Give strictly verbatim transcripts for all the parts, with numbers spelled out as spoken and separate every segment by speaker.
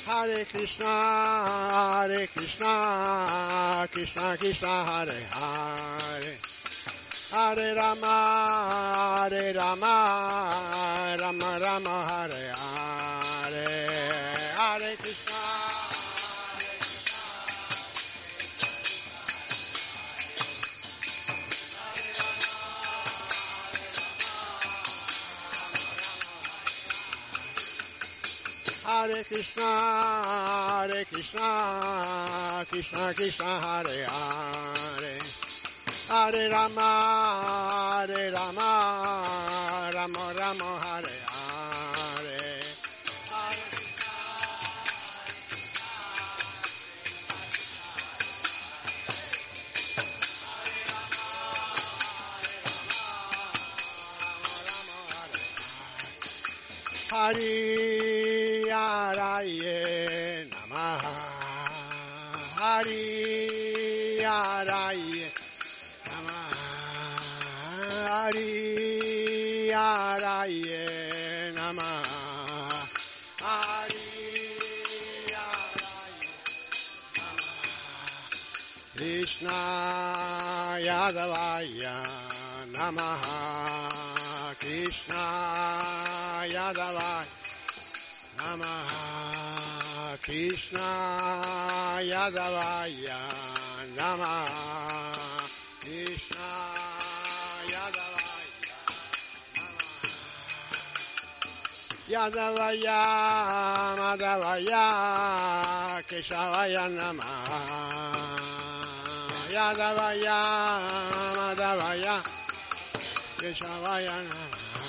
Speaker 1: Hare Krishna, Hare Krishna, Krishna Krishna, Hare Hare, Hare Rama, Hare Rama, Rama Rama, Hare Hare, Hare Krishna, Hare Krishna, Hare Krishna, Krishna Krishna, Hare Hare, Hare Rama, Hare Rama, Rama Rama, Hare Hare, Hare Hari Haraye Namaha, Hari Haraye Namaha, Hari Haraye Namaha, Hari Haraye Namaha, Krishna Yadavaya Namaha, Krishna Yadavaya Namaha, Krishna Yadavaya Namaha, Krishna Yadavaya Namaha, Yadavaya Madhavaya Keshavaya Namaha, Yadavaya Madhavaya Keshavaya Namaha,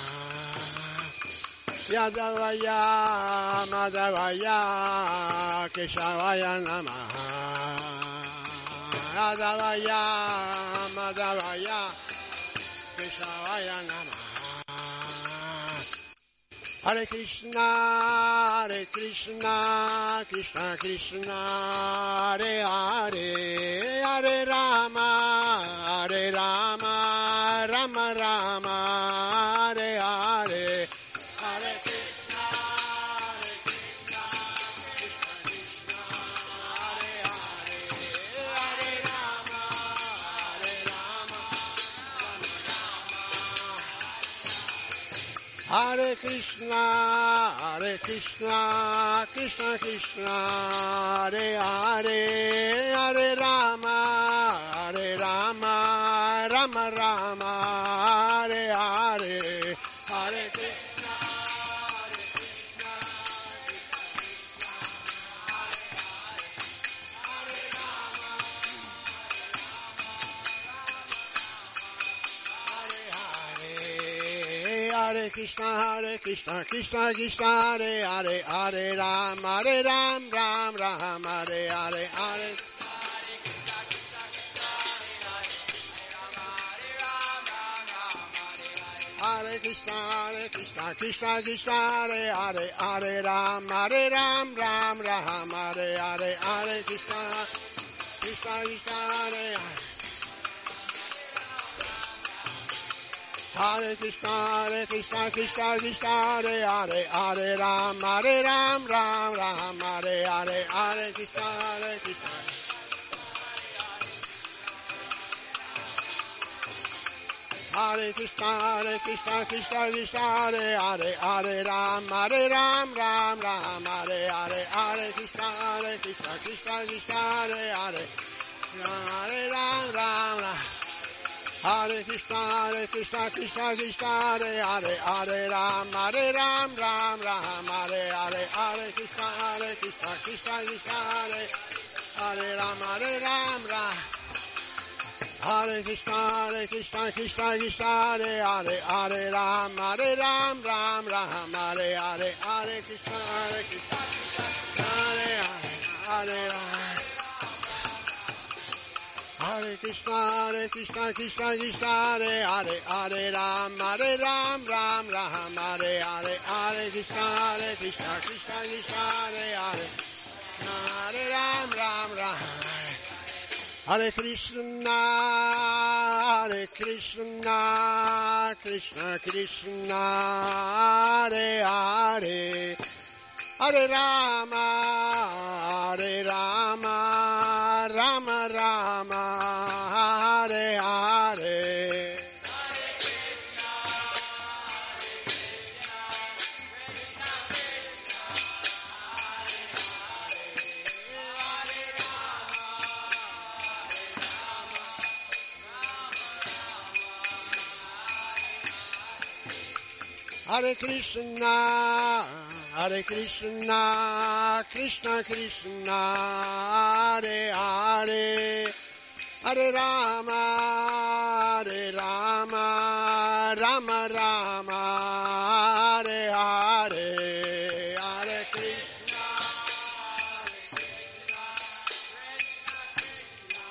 Speaker 1: Yadavaya Madhavaya Keshavaya Namaha, Yadavaya Madhavaya Keshavaya Namaha. Hare Krishna, Hare Krishna, Krishna Krishna, Hare Hare, Hare Rama, Hare Rama, Rama Rama, Hare Hare, Hare Krishna, Hare Krishna, Krishna Krishna, Hare Hare, Hare Rama, Hare Rama, Rama Rama. Hare Krishna, Hare Krishna, Krishna Krishna, Hare Hare, Hare Rama, Hare Rama, Rama Rama, Hare Hare, Hare Krishna, Hare Krishna, Hare Rama, Hare Hare, Hare Krishna, Hare Krishna, Krishna Krishna, Hare Hare, Hare Ram, Hare Ram, Ram Ram, Hare Hare, Hare Hare Krishna, Hare Krishna, Krishna Krishna, Hare Hare, Hare Ram, Hare Ram, Ram Ram, Hare Hare, Hare Krishna, Krishna Krishna, Hare Hare. Hare Krishna, Hare Krishna, Krishna Krishna, Hare Hare, Hare Ram, Hare Ram, Ram Ram, Hare Hare, Hare Krishna, Hare Krishna. Hare Krishna, Hare Krishna, Krishna Krishna, Hare Hare, Hare Ram, Hare Ram, Ram Ram, Hare Hare, Hare Krishna, Hare Krishna, Krishna Krishna, Hare Hare, Hare Ram, Ram Ram. Hare Krishna, Hare Krishna, Krishna Krishna, Hare Hare, Hare Ram, Hare Ram, Ram Ram, Hare Hare, Hare Krishna, Hare Krishna, Krishna Krishna, Hare Hare Ram, Hare Ram, Ram. Hare Krishna, Hare Krishna, Krishna Krishna, Hare Hare, Hare Ram, Hare Ram, Ram Ram, Hare Hare, Hare Krishna, Hare Krishna, Hare Hare, Hare Ram. Hare Krishna, Hare Krishna, Krishna Krishna, Hare Hare, Hare Ram, Hare Ram, Ram Ram, Hare Hare, Hare Krishna, Hare Krishna, Krishna Krishna, Hare Hare, Hare Ram, Ram Ram. Hare Krishna, Hare Krishna, Krishna Krishna, Hare Hare, Hare Rama, Hare Krishna, Hare Krishna, Krishna Krishna, Hare Hare, Hare Rama, Hare Rama, Rama Rama, Hare Hare, Hare Krishna, Hare Krishna, Krishna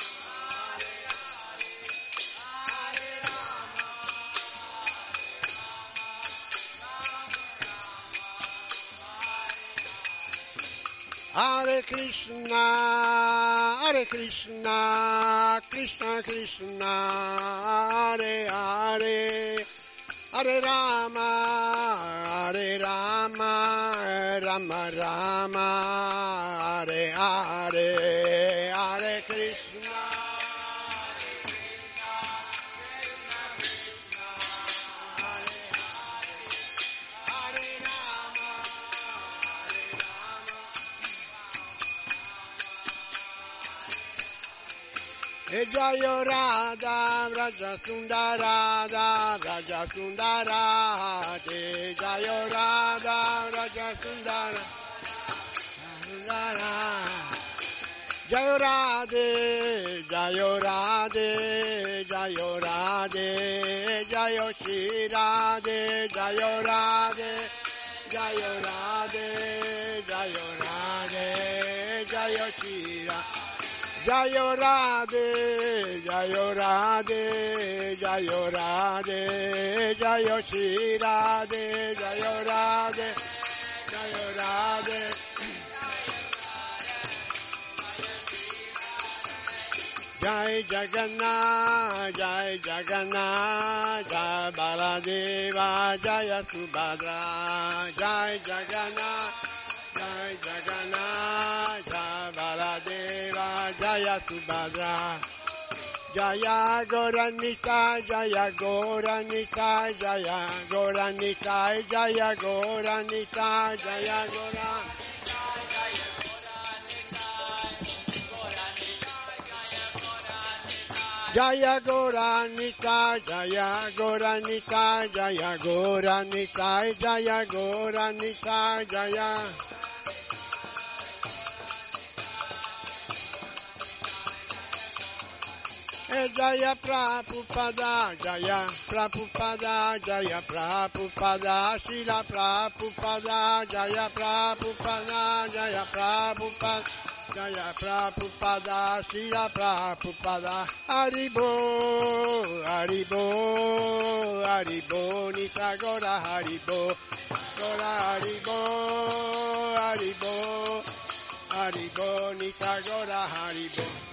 Speaker 1: Hare Krishna, Hare Krishna, Krishna Krishna, Hare Hare, Hare Rama, Hare Rama, Rama Rama, Hare Hare, Hare Krishna, E Jayo Radha, Raja Sundara, Raja Sundara, De Jayo Radha, Raja Sundara, Sundara. Jayo Radhe, Jayo Radhe, Jayo Radhe, Jayo Shri Radhe, Jayo Radhe, Jayo Radhe, Jayo Radhe, Jayo Shri Radhe. Jayo Radhe, Jayo Radhe, Jayo Radhe, Jayo Shri Radhe, Jayo Radhe, Jayo Radhe. Jai Jagannath, Jai Jagannath, Jai Baladeva, Jaya Subhadra, Jai Jagannath. Jai Jagannath, Jai Baladeva, Jaya Subhadra, Jaya Goranita, Jaya Goranita, Jaya Goranita, Jaya Goranita, Jaya Goranita. Jaya Goranita, Jaya Goranita, Jaya Goranita, Jaya Goranita, Jaya. E Jaya Prabhupada, Jaya Prabhupada, Jaya Prabhupada, Srila Prabhupada, Jaya Prabhupada, Jaya Prabhupada, Jaya Prabhupada, Srila Prabhupada, Haribo, Haribo, Haribo, Nita Gora Haribo, Gora Haribo, Haribo, Haribo, Nita Gora Haribo.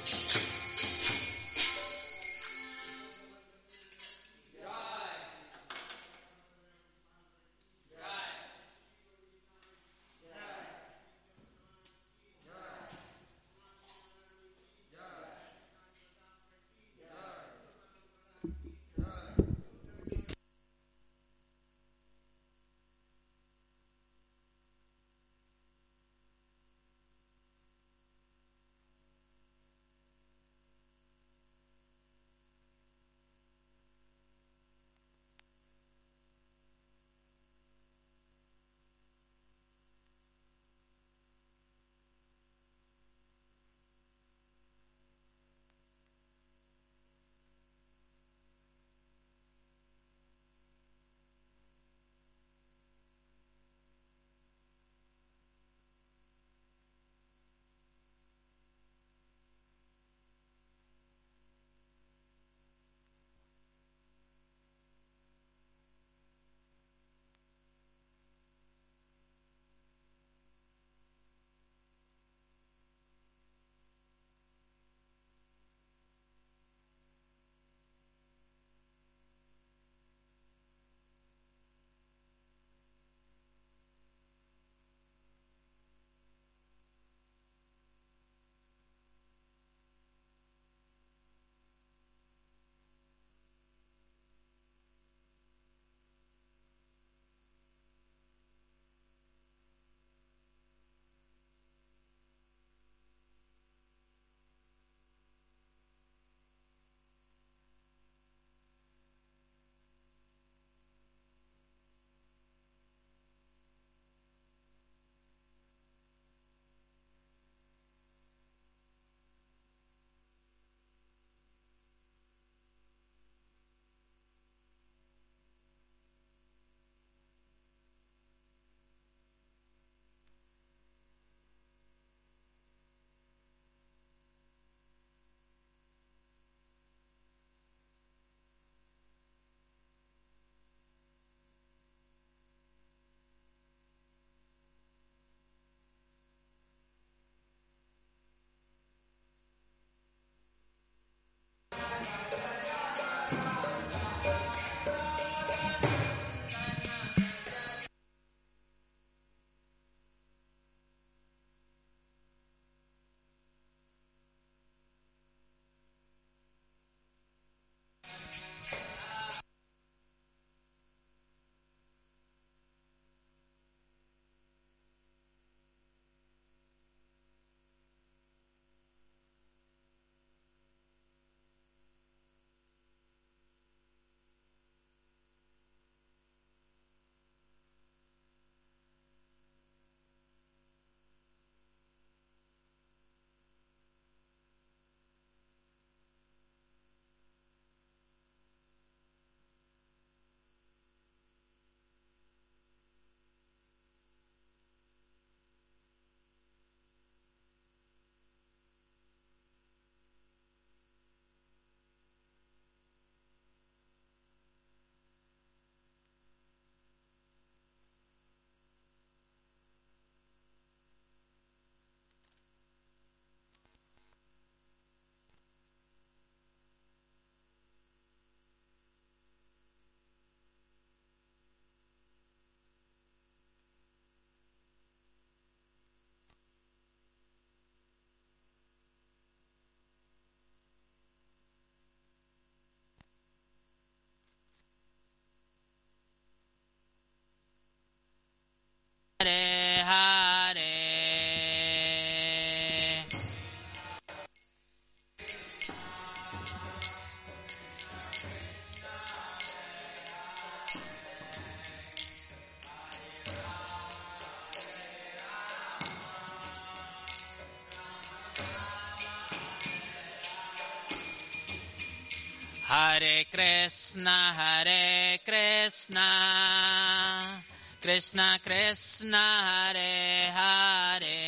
Speaker 2: Hare Krishna, Hare Krishna, Krishna Krishna, Hare Hare,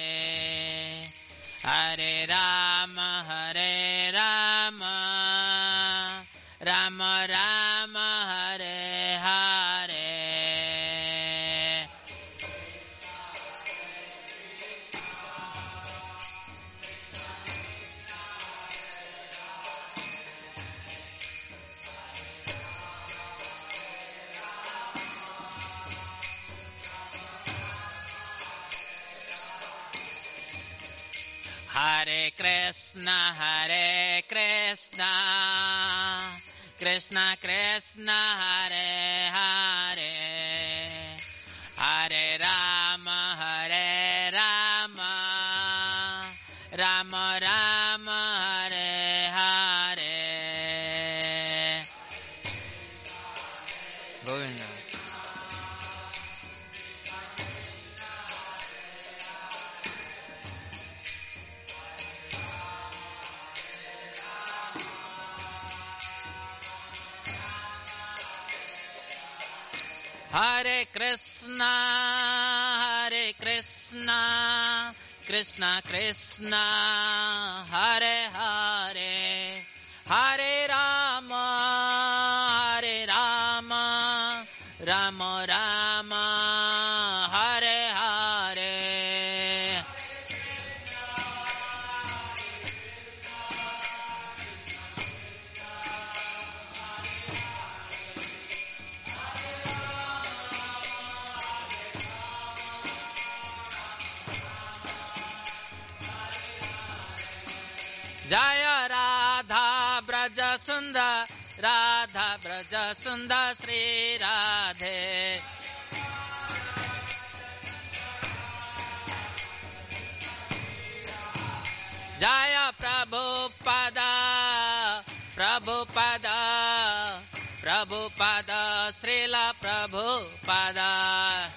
Speaker 2: Hare Rama, Hare Rama, Rama Rama, Hare Hare. Hare Krishna, Hare Krishna, Krishna Krishna, Hare Hare, Hare Rama, Hare Rama, Rama Rama, Hare Hare. Govinda. Hare Krishna, Hare Krishna, Krishna Krishna, Hare Hare, Hare Rama, Hare Rama, Rama Rama, Hare Hare. Jaya Radha Braja Sundar, Radha Braja Sundar Sri Radhe. Jaya Prabhupada, Prabhupada, Prabhupada, Srila Prabhupada.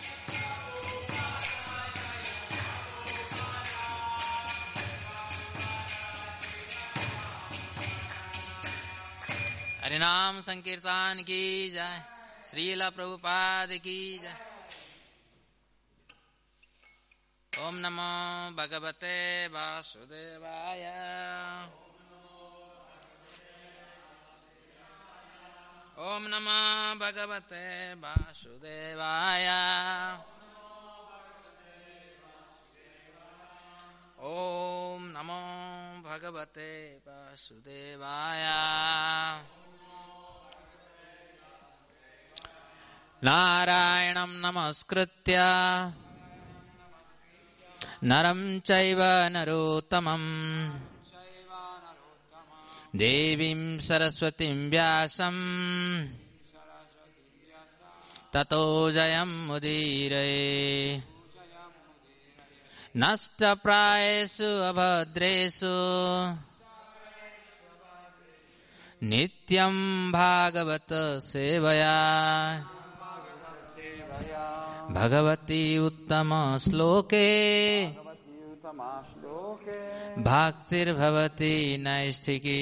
Speaker 2: हरिनाम संकीर्तन की जय, श्रील प्रभुपाद की जय। ओम नमो भगवते वासुदेवाय। ओम नमो भगवते वासुदेवाय। ओम नमो भगवते वासुदेवाय। नारायणं नमस्कृत्य नरं चैव नरोत्तमं देवीं सरस्वतीं व्यासं ततो जयमुदीरये। नष्टप्रायेषु अभद्रेषु नित्यं भागवत सेवया भगवती उत्तम श्लोके भक्तिर्भवति नैष्ठिकी।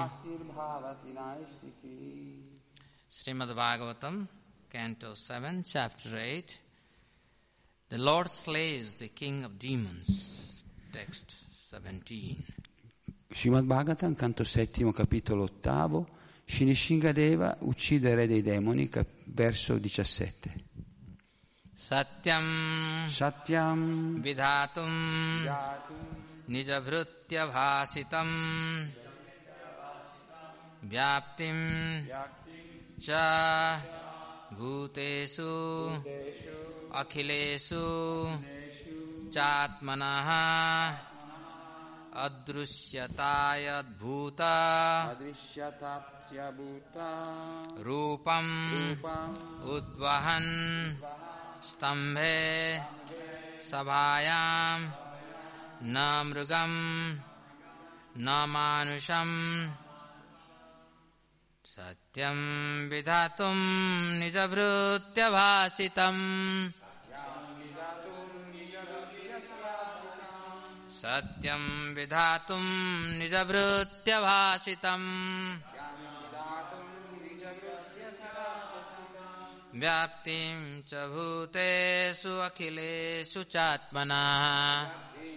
Speaker 2: Srimad Bhagavatam, Canto seven, Chapter eight. The Lord slays the king of demons. Text seventeen.
Speaker 3: Srimad Bhagavatam, Canto settimo, capitolo ottavo. Shrishingadeva uccide il re dei demoni, cap- verso diciassette.
Speaker 2: Satyam
Speaker 3: Satyam
Speaker 2: Vidhatum Nijabhrutya Bhasitam Vyaptim Cha Bhutesu Akhilesu Chatmanaha Adrushyatayadbhuta Rupam Udvahan Stambhe Sabhayam Na Mrugam Na Manusham Satyam Vidhatum Nijabhrutya Bhasitam Satyam Vidhatum Nijabhrutya Bhasitam व्याप्तिं च भूतेषु अखिलेषु चात्मनः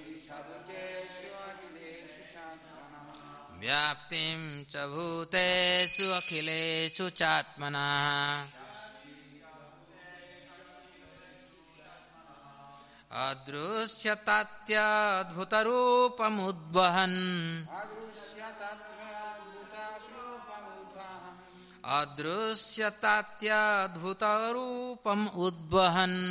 Speaker 2: व्याप्तिं च भूतेषु अखिलेषु चात्मनः अदृश्यतात्यद्भुतरूपमुद्वहन् अदृश्यतात्यद्भुतरूपम् उद्वहन्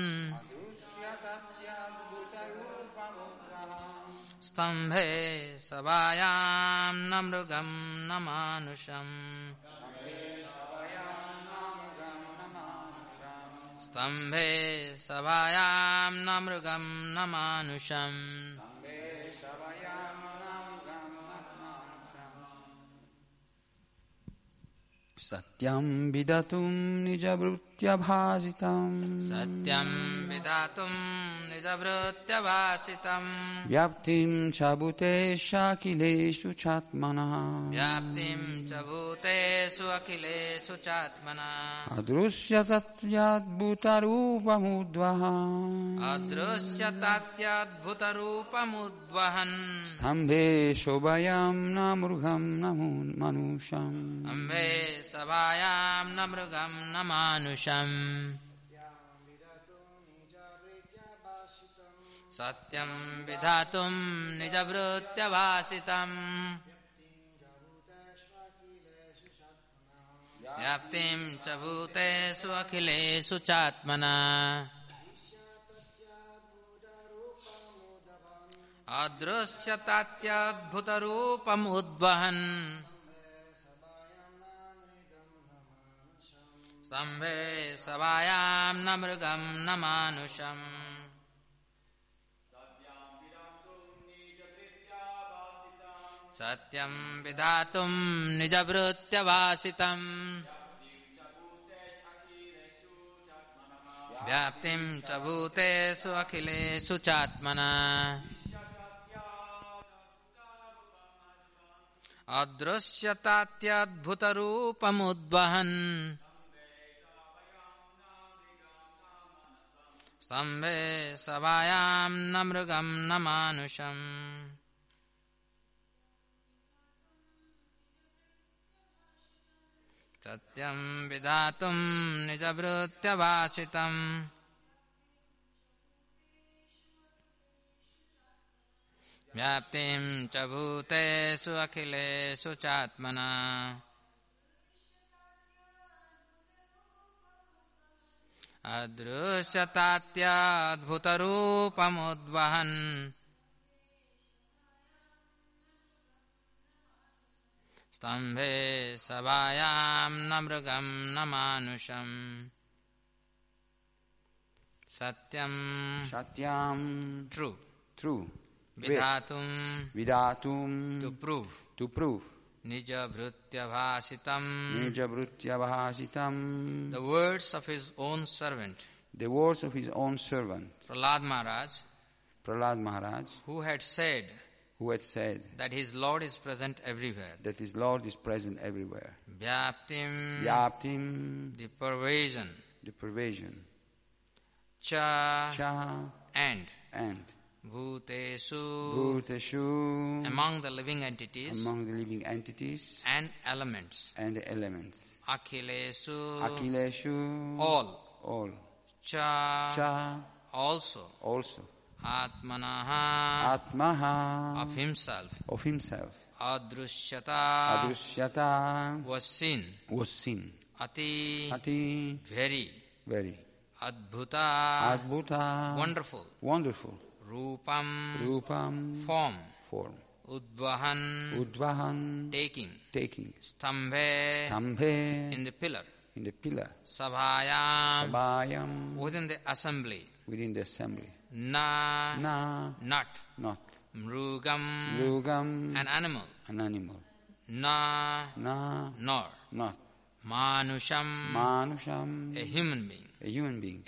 Speaker 2: स्तम्भे सभायां न मृगं न मानुषम् स्तम्भे सभायां न मृगं न मानुषम्
Speaker 3: सत्यं विदतुं निजवृत्त्यभासितं
Speaker 2: सत्यं विधातुं निजवृत्त्यभासितं
Speaker 3: व्याप्तिं च भूतेष्वखिलेषु चात्मनः
Speaker 2: व्याप्तिं च भूतेषु अखिलेषु चात्मनः
Speaker 3: अदृश्यतत्याद्भुतरूपमुद्वहन्
Speaker 2: अदृश्यतात्यद्भुतरूपमुद्वहन्
Speaker 3: स्तम्भे शोभयां न मृगं न मनुष्यम्
Speaker 2: अम्भे सभायां न मृगं न मानुषम् सत्यं विधातुं निजवृत्त्यभासितम् व्याप्तिं च भूतेषु अखिलेषु चात्मनः अदृश्यतात्यद्भुतरूपम् उद्वहन् स्तम्भे सभायां न मृगं न मानुषम् सत्यं विधातुं निजवृत्त्यभासितम् व्याप्तिं च भूतेषु अखिलेषु चात्मनः अदृश्यतात्यद्भुतरूपमुद्वहन् स्तम्भे सभायां न मृगं न मानुषम् सत्यं विधातुं निजवृत्त्यभासितम् व्याप्तिं च भूतेषु अखिलेषु चात्मनः अदृश्यतात्यद्भुतरूपमुद्वहन् स्तम्भे सभायां न मृगं न मानुषम् सत्यं
Speaker 3: सत्यं
Speaker 2: true
Speaker 3: true
Speaker 2: विधातुं
Speaker 3: vidatum
Speaker 2: to prove
Speaker 3: to prove
Speaker 2: nijavrutyabhasitam
Speaker 3: nijavrutyabhasitam
Speaker 2: the words of his own servant
Speaker 3: the words of his own servant
Speaker 2: Prahlad Maharaj
Speaker 3: Prahlad Maharaj
Speaker 2: who had said
Speaker 3: who had said
Speaker 2: that his Lord is present everywhere.
Speaker 3: that his Lord is present everywhere.
Speaker 2: Vyaptim,
Speaker 3: Vyaptim,
Speaker 2: the pervasion.
Speaker 3: the pervasion.
Speaker 2: Cha,
Speaker 3: Cha,
Speaker 2: and.
Speaker 3: and.
Speaker 2: Bhuteshu,
Speaker 3: Bhuteshu,
Speaker 2: among the living entities.
Speaker 3: among the living entities.
Speaker 2: And elements.
Speaker 3: And the elements.
Speaker 2: Akhileshu,
Speaker 3: Akhileshu,
Speaker 2: all.
Speaker 3: all.
Speaker 2: Cha,
Speaker 3: Cha,
Speaker 2: also.
Speaker 3: also.
Speaker 2: Atmanaha,
Speaker 3: Atmaha,
Speaker 2: of himself.
Speaker 3: of himself.
Speaker 2: Adrushyata,
Speaker 3: Adrushyata,
Speaker 2: was seen.
Speaker 3: was seen.
Speaker 2: Ati,
Speaker 3: Ati,
Speaker 2: very.
Speaker 3: very.
Speaker 2: Adbhuta,
Speaker 3: Adbhuta,
Speaker 2: wonderful.
Speaker 3: wonderful.
Speaker 2: Rupam,
Speaker 3: Rupam,
Speaker 2: form.
Speaker 3: form.
Speaker 2: Udvahan,
Speaker 3: Udvahan,
Speaker 2: taking.
Speaker 3: taking.
Speaker 2: Stambhe,
Speaker 3: Stambhe,
Speaker 2: in the pillar.
Speaker 3: in the pillar.
Speaker 2: Sabhayam,
Speaker 3: Sabhayam,
Speaker 2: within the assembly.
Speaker 3: within the assembly.
Speaker 2: Na,
Speaker 3: Na,
Speaker 2: not.
Speaker 3: not.
Speaker 2: Mrugam,
Speaker 3: Rugam,
Speaker 2: an animal.
Speaker 3: an animal.
Speaker 2: Na,
Speaker 3: Na,
Speaker 2: nor.
Speaker 3: not.
Speaker 2: Manusham,
Speaker 3: Manusham,
Speaker 2: a human being.
Speaker 3: a human being.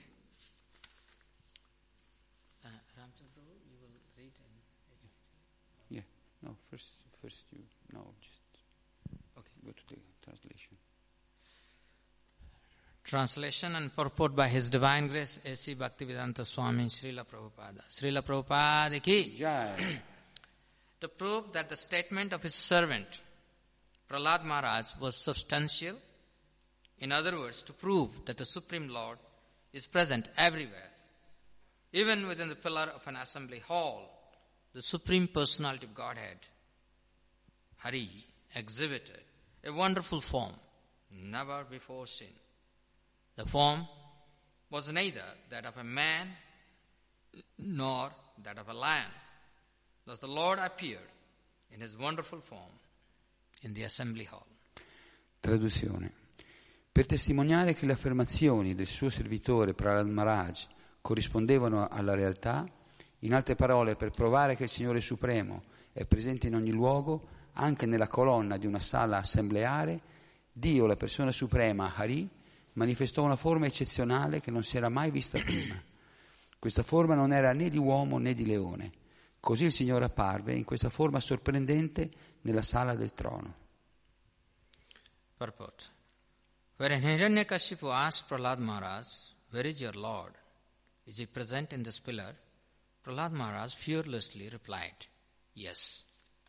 Speaker 2: Uh, Ramchandra, you will read in...
Speaker 3: Yeah, no, first, first you, no, just
Speaker 2: Okay.
Speaker 3: go to the translation.
Speaker 2: Translation and purport by His Divine Grace A C Bhaktivedanta Swami Srila Prabhupada. Srila Prabhupada ki.
Speaker 3: Jai.
Speaker 2: To prove that the statement of his servant Prahlad Maharaj was substantial, in other words, to prove that the Supreme Lord is present everywhere, even within the pillar of an assembly hall, the Supreme Personality of Godhead, Hari, exhibited a wonderful form never before seen. The form was neither that of a man nor that of a lion. Thus the Lord appeared in his wonderful form in the assembly hall.
Speaker 3: Traduzione. Per testimoniare che le affermazioni del suo servitore Prahlad Maharaj corrispondevano alla realtà, in altre parole, per provare che il Signore Supremo è presente in ogni luogo, anche nella colonna di una sala assembleare, Dio, la persona suprema, Hari, manifestò una forma eccezionale che non si era mai vista prima. Questa forma non era né di uomo né di leone. Così il Signore apparve in questa forma sorprendente nella sala del trono.
Speaker 2: Purport. Wherein Hiranyakashipu asked Prahlad Maharaj, "Where is your Lord? Is he present in this pillar?" Prahlad Maharaj fearlessly replied, "Yes.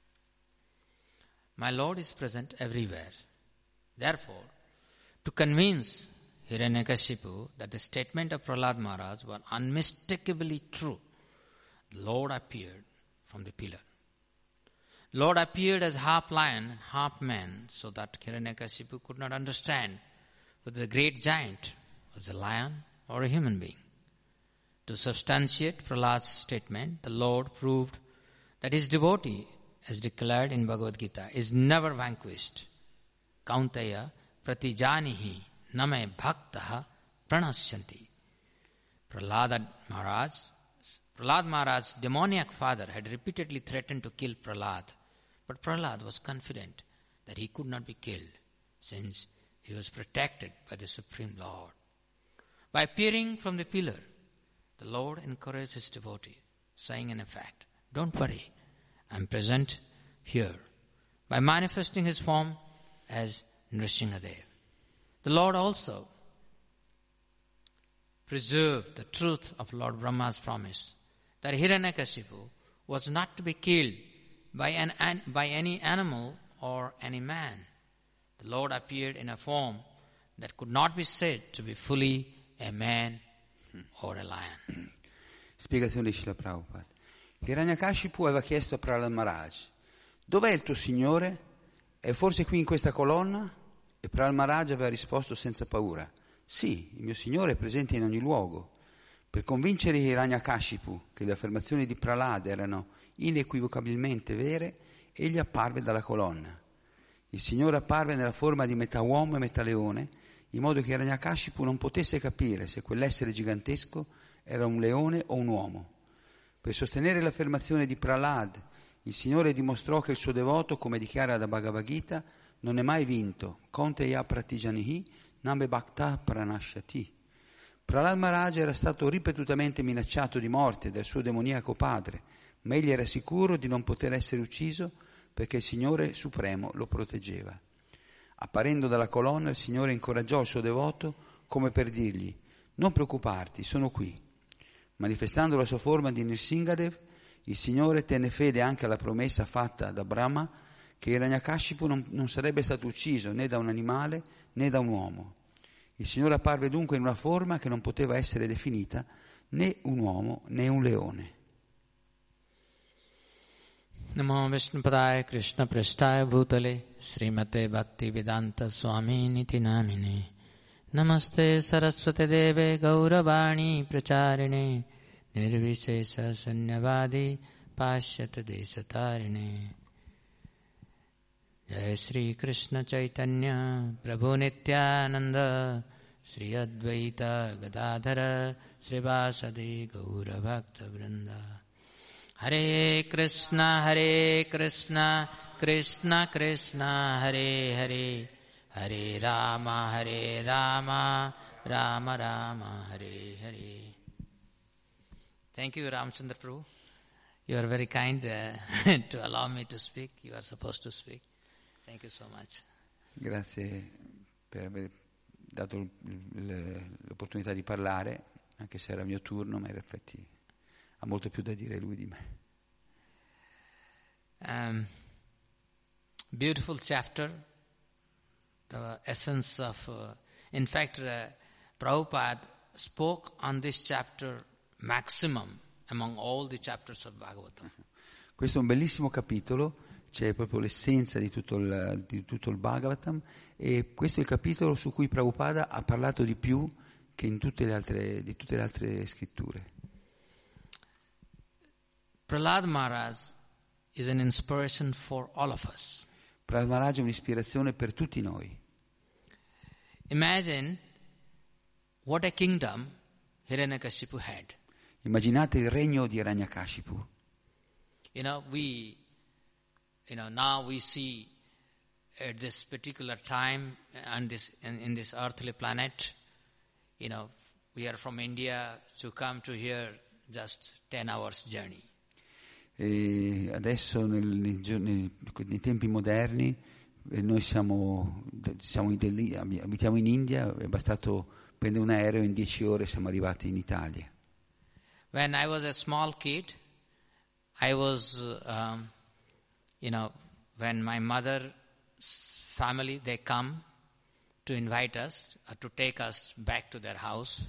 Speaker 2: My Lord is present everywhere." Therefore, to convince Hiranyakashipu that the statement of Prahlad Maharaj was unmistakably true, the Lord appeared from the pillar. Lord appeared as half lion and half man, so that Hiranyakashipu could not understand whether the great giant was a lion or a human being. To substantiate Prahlad's statement, the Lord proved that his devotee, as declared in Bhagavad Gita, is never vanquished. Kaunteya pratijanihi name bhaktaha pranasyanti. Prahlad Maharaj, Prahlad Maharaj's demoniac father had repeatedly threatened to kill Prahlad, but Prahlad was confident that he could not be killed, since he was protected by the Supreme Lord. By appearing from the pillar, the Lord encouraged his devotee, saying in effect, "Don't worry, I am present here," by manifesting his form as Nrsimhadev. The Lord also preserved the truth of Lord Brahma's promise that Hiranyakashipu was not to be killed by, an, an, by any animal or any man. The Lord appeared in a form that could not be said to be fully a man or a lion.
Speaker 3: Spiegazione di Srila Prabhupada. Hiranyakashipu aveva chiesto a Prahlad Maharaj: "Dov'è il tuo Signore? È forse qui in questa colonna?" E Prahlad Maharaj aveva risposto senza paura: "Sì, il mio Signore è presente in ogni luogo." Per convincere Hiranyakashipu che le affermazioni di Prahlad erano inequivocabilmente vere, egli apparve dalla colonna. Il Signore apparve nella forma di metà uomo e metà leone, in modo che Hiranyakashipu non potesse capire se quell'essere gigantesco era un leone o un uomo. Per sostenere l'affermazione di Prahlad, il Signore dimostrò che il suo devoto, come dichiara da Bhagavad Gita, non è mai vinto. Kaunteya pratijanihi name bhakta pranashyati. Prahlad Maharaj era stato ripetutamente minacciato di morte dal suo demoniaco padre, ma egli era sicuro di non poter essere ucciso perché il Signore Supremo lo proteggeva. Apparendo dalla colonna, il Signore incoraggiò il suo devoto come per dirgli: "Non preoccuparti, sono qui." Manifestando la sua forma di Nrsimhadev, il Signore tenne fede anche alla promessa fatta da Brahma che Hiranyakashipu non, non sarebbe stato ucciso né da un animale né da un uomo. Il Signore apparve dunque in una forma che non poteva essere definita né un uomo né un leone.
Speaker 2: Namo Vishnupadaya Krishna Prasthaya Bhutale Srimate Bhaktivedanta Swami Niti Namine Namaste Saraswate Deve Gauravani Pracharine Nirvishesha Sanyavadi Pashyata Desatarine. Jai Sri Krishna Chaitanya Prabhu Nityananda Sri Advaita Gadadhara Srivasadi Gaura Bhakta Vrinda. Hare Krishna Hare Krishna Krishna Krishna Hare Hare Hare Rama Hare Rama Rama Rama Hare Hare. Thank you, Ramchandra Prabhu. You are very kind uh, to allow me to speak. You are supposed to speak. Thank you so much.
Speaker 3: Grazie per aver dato l- l- l'opportunità di parlare, anche se era il mio turno, ma in effetti ha molto più da dire lui di me.
Speaker 2: Um, beautiful chapter, the essence of, uh, in fact, uh, Prabhupada spoke on this chapter maximum among all the chapters of Bhagavatam.
Speaker 3: Questo è un bellissimo capitolo, c'è proprio l'essenza di tutto il, di tutto il Bhagavatam, e questo è il capitolo su cui Prabhupada ha parlato di più che in tutte le altre, di tutte le altre scritture.
Speaker 2: Prahlad Maharaj is an inspiration for all of us.
Speaker 3: Prahlad Maharaj è un'ispirazione per tutti noi.
Speaker 2: Imagine what a kingdom Hiranyakashipu had.
Speaker 3: Immaginate il regno di Hiranyakashipu.
Speaker 2: You know, we, you know, now we see at this particular time on this, in, in this earthly planet, you know, we are from India to come to here just ten hours journey.
Speaker 3: E adesso nel, nei, nei, nei tempi moderni eh, noi siamo, siamo in, abitiamo in India, è bastato prendere un aereo, in dieci ore siamo arrivati in Italia.
Speaker 2: When I was a small kid, I was, um, you know, when my mother's family, they come to invite us, uh, to take us back to their house.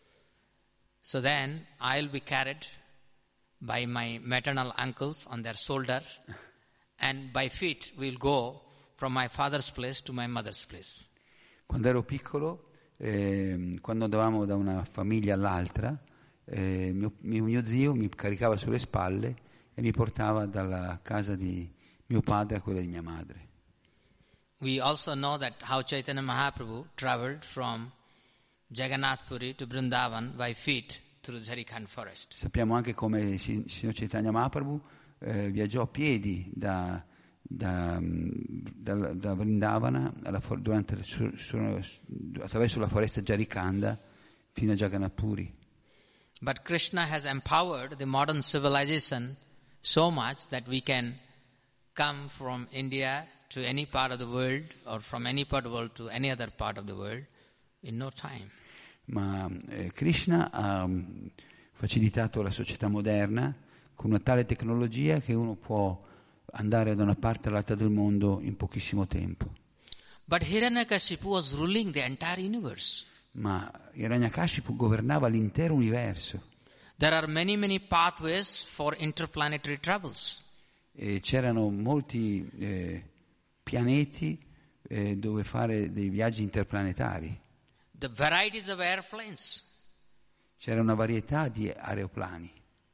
Speaker 2: So then I'll be carried by my maternal uncles on their shoulder, and by feet we'll go from my father's place to my mother's place.
Speaker 3: Quando ero piccolo, eh, quando andavamo da una famiglia all'altra, eh, mio, mio, mio zio mi caricava sulle spalle e mi portava dalla casa di mio padre a quella di mia madre.
Speaker 2: We also know that how Chaitanya Mahaprabhu traveled from Jagannath Puri to Vrindavan by feet through Jharkhand forest.
Speaker 3: Sappiamo anche come il signor Chaitanya Mahaprabhu eh, viaggiò a piedi da, da, da, da Vrindavana alla for- durante, su, su, attraverso la foresta Jharkhanda fino a Jagannath Puri.
Speaker 2: But Krishna has empowered the modern civilization so much that we can come from India to any part of the world, or from any part of the world to any other part of the world in no time.
Speaker 3: Ma eh, Krishna ha um, facilitato la società moderna con una tale tecnologia che uno può andare da una parte all'altra del mondo in pochissimo tempo.
Speaker 2: But Hiranyakashipu was ruling the entire universe.
Speaker 3: Ma Hiranyakashipu governava l'intero universo.
Speaker 2: There are many, many pathways for interplanetary travels.
Speaker 3: E c'erano molti eh, pianeti eh, dove fare dei viaggi interplanetari.
Speaker 2: The varieties of airplanes.
Speaker 3: C'era una varietà di aeroplani.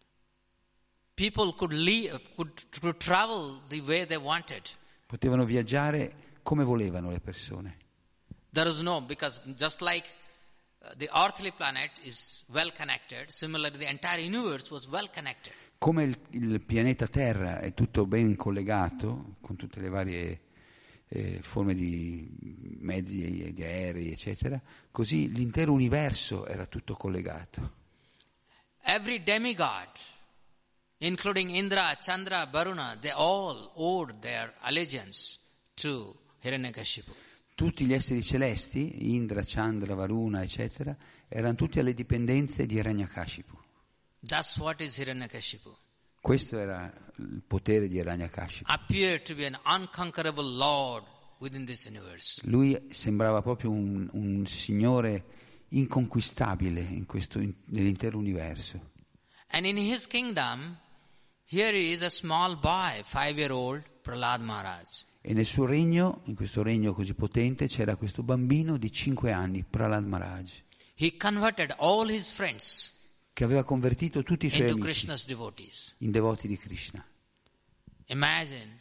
Speaker 2: People could leave, could, could travel the way they wanted.
Speaker 3: Potevano viaggiare come volevano le persone.
Speaker 2: There is no, because just like uh, the earthly planet is well connected, similarly the entire universe was well connected.
Speaker 3: Come il, il pianeta Terra è tutto ben collegato con tutte le varie eh, forme di mezzi, di aerei, eccetera, così l'intero universo era tutto collegato.
Speaker 2: Every demigod, including Indra, Chandra, Varuna, they all owed their allegiance to Hiranyakashipu.
Speaker 3: Tutti gli esseri celesti, Indra, Chandra, Varuna, eccetera, erano tutti alle dipendenze di Hiranyakashipu.
Speaker 2: That's what is Hiranyakashipu.
Speaker 3: Questo era il potere di Hiranyakashipu.
Speaker 2: Appeared to be an unconquerable lord within this universe.
Speaker 3: Lui sembrava proprio un, un signore inconquistabile in questo, in, nell'intero universo.
Speaker 2: And in his kingdom, here is a small boy, five-year-old Prahlad Maharaj.
Speaker 3: E nel suo regno, in questo regno così potente, c'era questo bambino di cinque anni, Prahlad Maharaj,
Speaker 2: He converted all his friends
Speaker 3: che aveva convertito tutti i suoi
Speaker 2: into
Speaker 3: amici
Speaker 2: Krishna's devotees.
Speaker 3: in devoti di Krishna.
Speaker 2: Imagine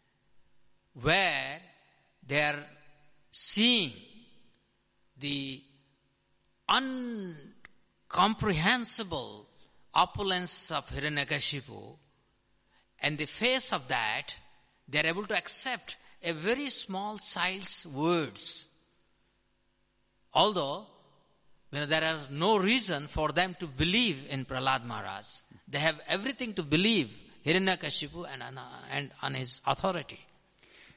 Speaker 2: where they are seeing the incomprehensible opulence of Hiranyakashipu, and the face of that, they are able to accept a very small child's words. Although, you know, there is no reason for them to believe in Prahlad Maharaj. They have everything to believe Hiranyakashipu and, and on his authority.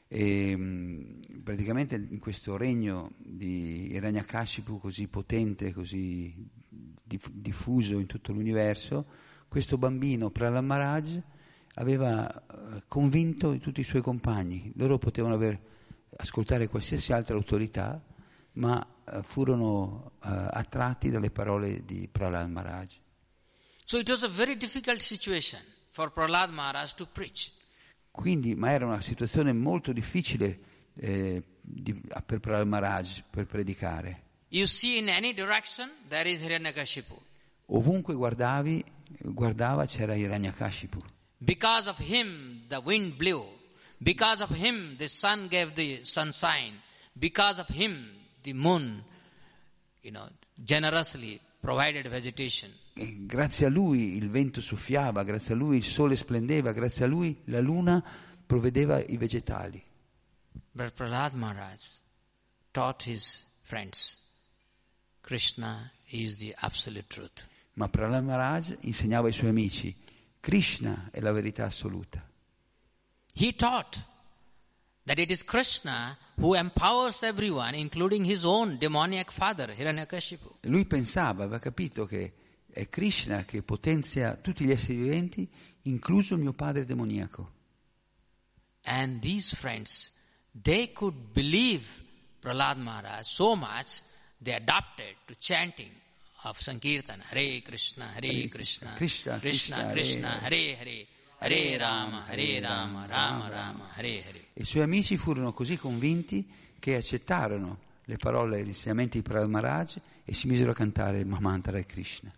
Speaker 3: E mh, praticamente in questo regno di Hiranyakashipu così potente, così diff- diffuso in tutto l'universo, questo bambino Prahlad Maharaj aveva uh, convinto tutti i suoi compagni. Loro potevano aver, ascoltare qualsiasi altra autorità, ma uh, furono uh, attratti dalle parole di Prahlad Maharaj.
Speaker 2: So it was a very difficult situation for Prahlad Maharaj to preach.
Speaker 3: Quindi, ma era una situazione molto difficile eh, di, per Prahlad Maharaj per predicare.
Speaker 2: You see in any direction there is Hiranyakashipu.
Speaker 3: Ovunque guardavi, guardava c'era Hiranyakashipu.
Speaker 2: Because of him the wind blew. Because of him the sun gave the sunshine. Because of him the moon, you know, generously provided vegetation.
Speaker 3: E grazie a lui il vento soffiava, grazie a lui il sole splendeva, grazie a lui la luna provvedeva i vegetali.
Speaker 2: But Prahlad Maharaj taught his friends, Krishna is the absolute truth.
Speaker 3: Ma Prahlad Maharaj insegnava ai suoi amici, Krishna è la verità assoluta.
Speaker 2: He taught that it is Krishna who empowers everyone, including his own demoniac father, Hiranyakashipu.
Speaker 3: E lui pensava, aveva capito che è Krishna che potenzia tutti gli esseri viventi, incluso il mio padre demoniaco.
Speaker 2: And these friends, they could believe Prahlad Maharaj so much, they adopted to chanting of Sankirtan, Hare Krishna, Hare, Hare Krishna, Krishna, Krishna, Krishna, Hare Hare, Hare Rama, Hare Rama, Rama Rama, Hare Hare.
Speaker 3: I suoi amici furono così convinti che accettarono le parole e gli insegnamenti di Prahlad Maharaj e si misero a cantare il Mahamantra di Krishna.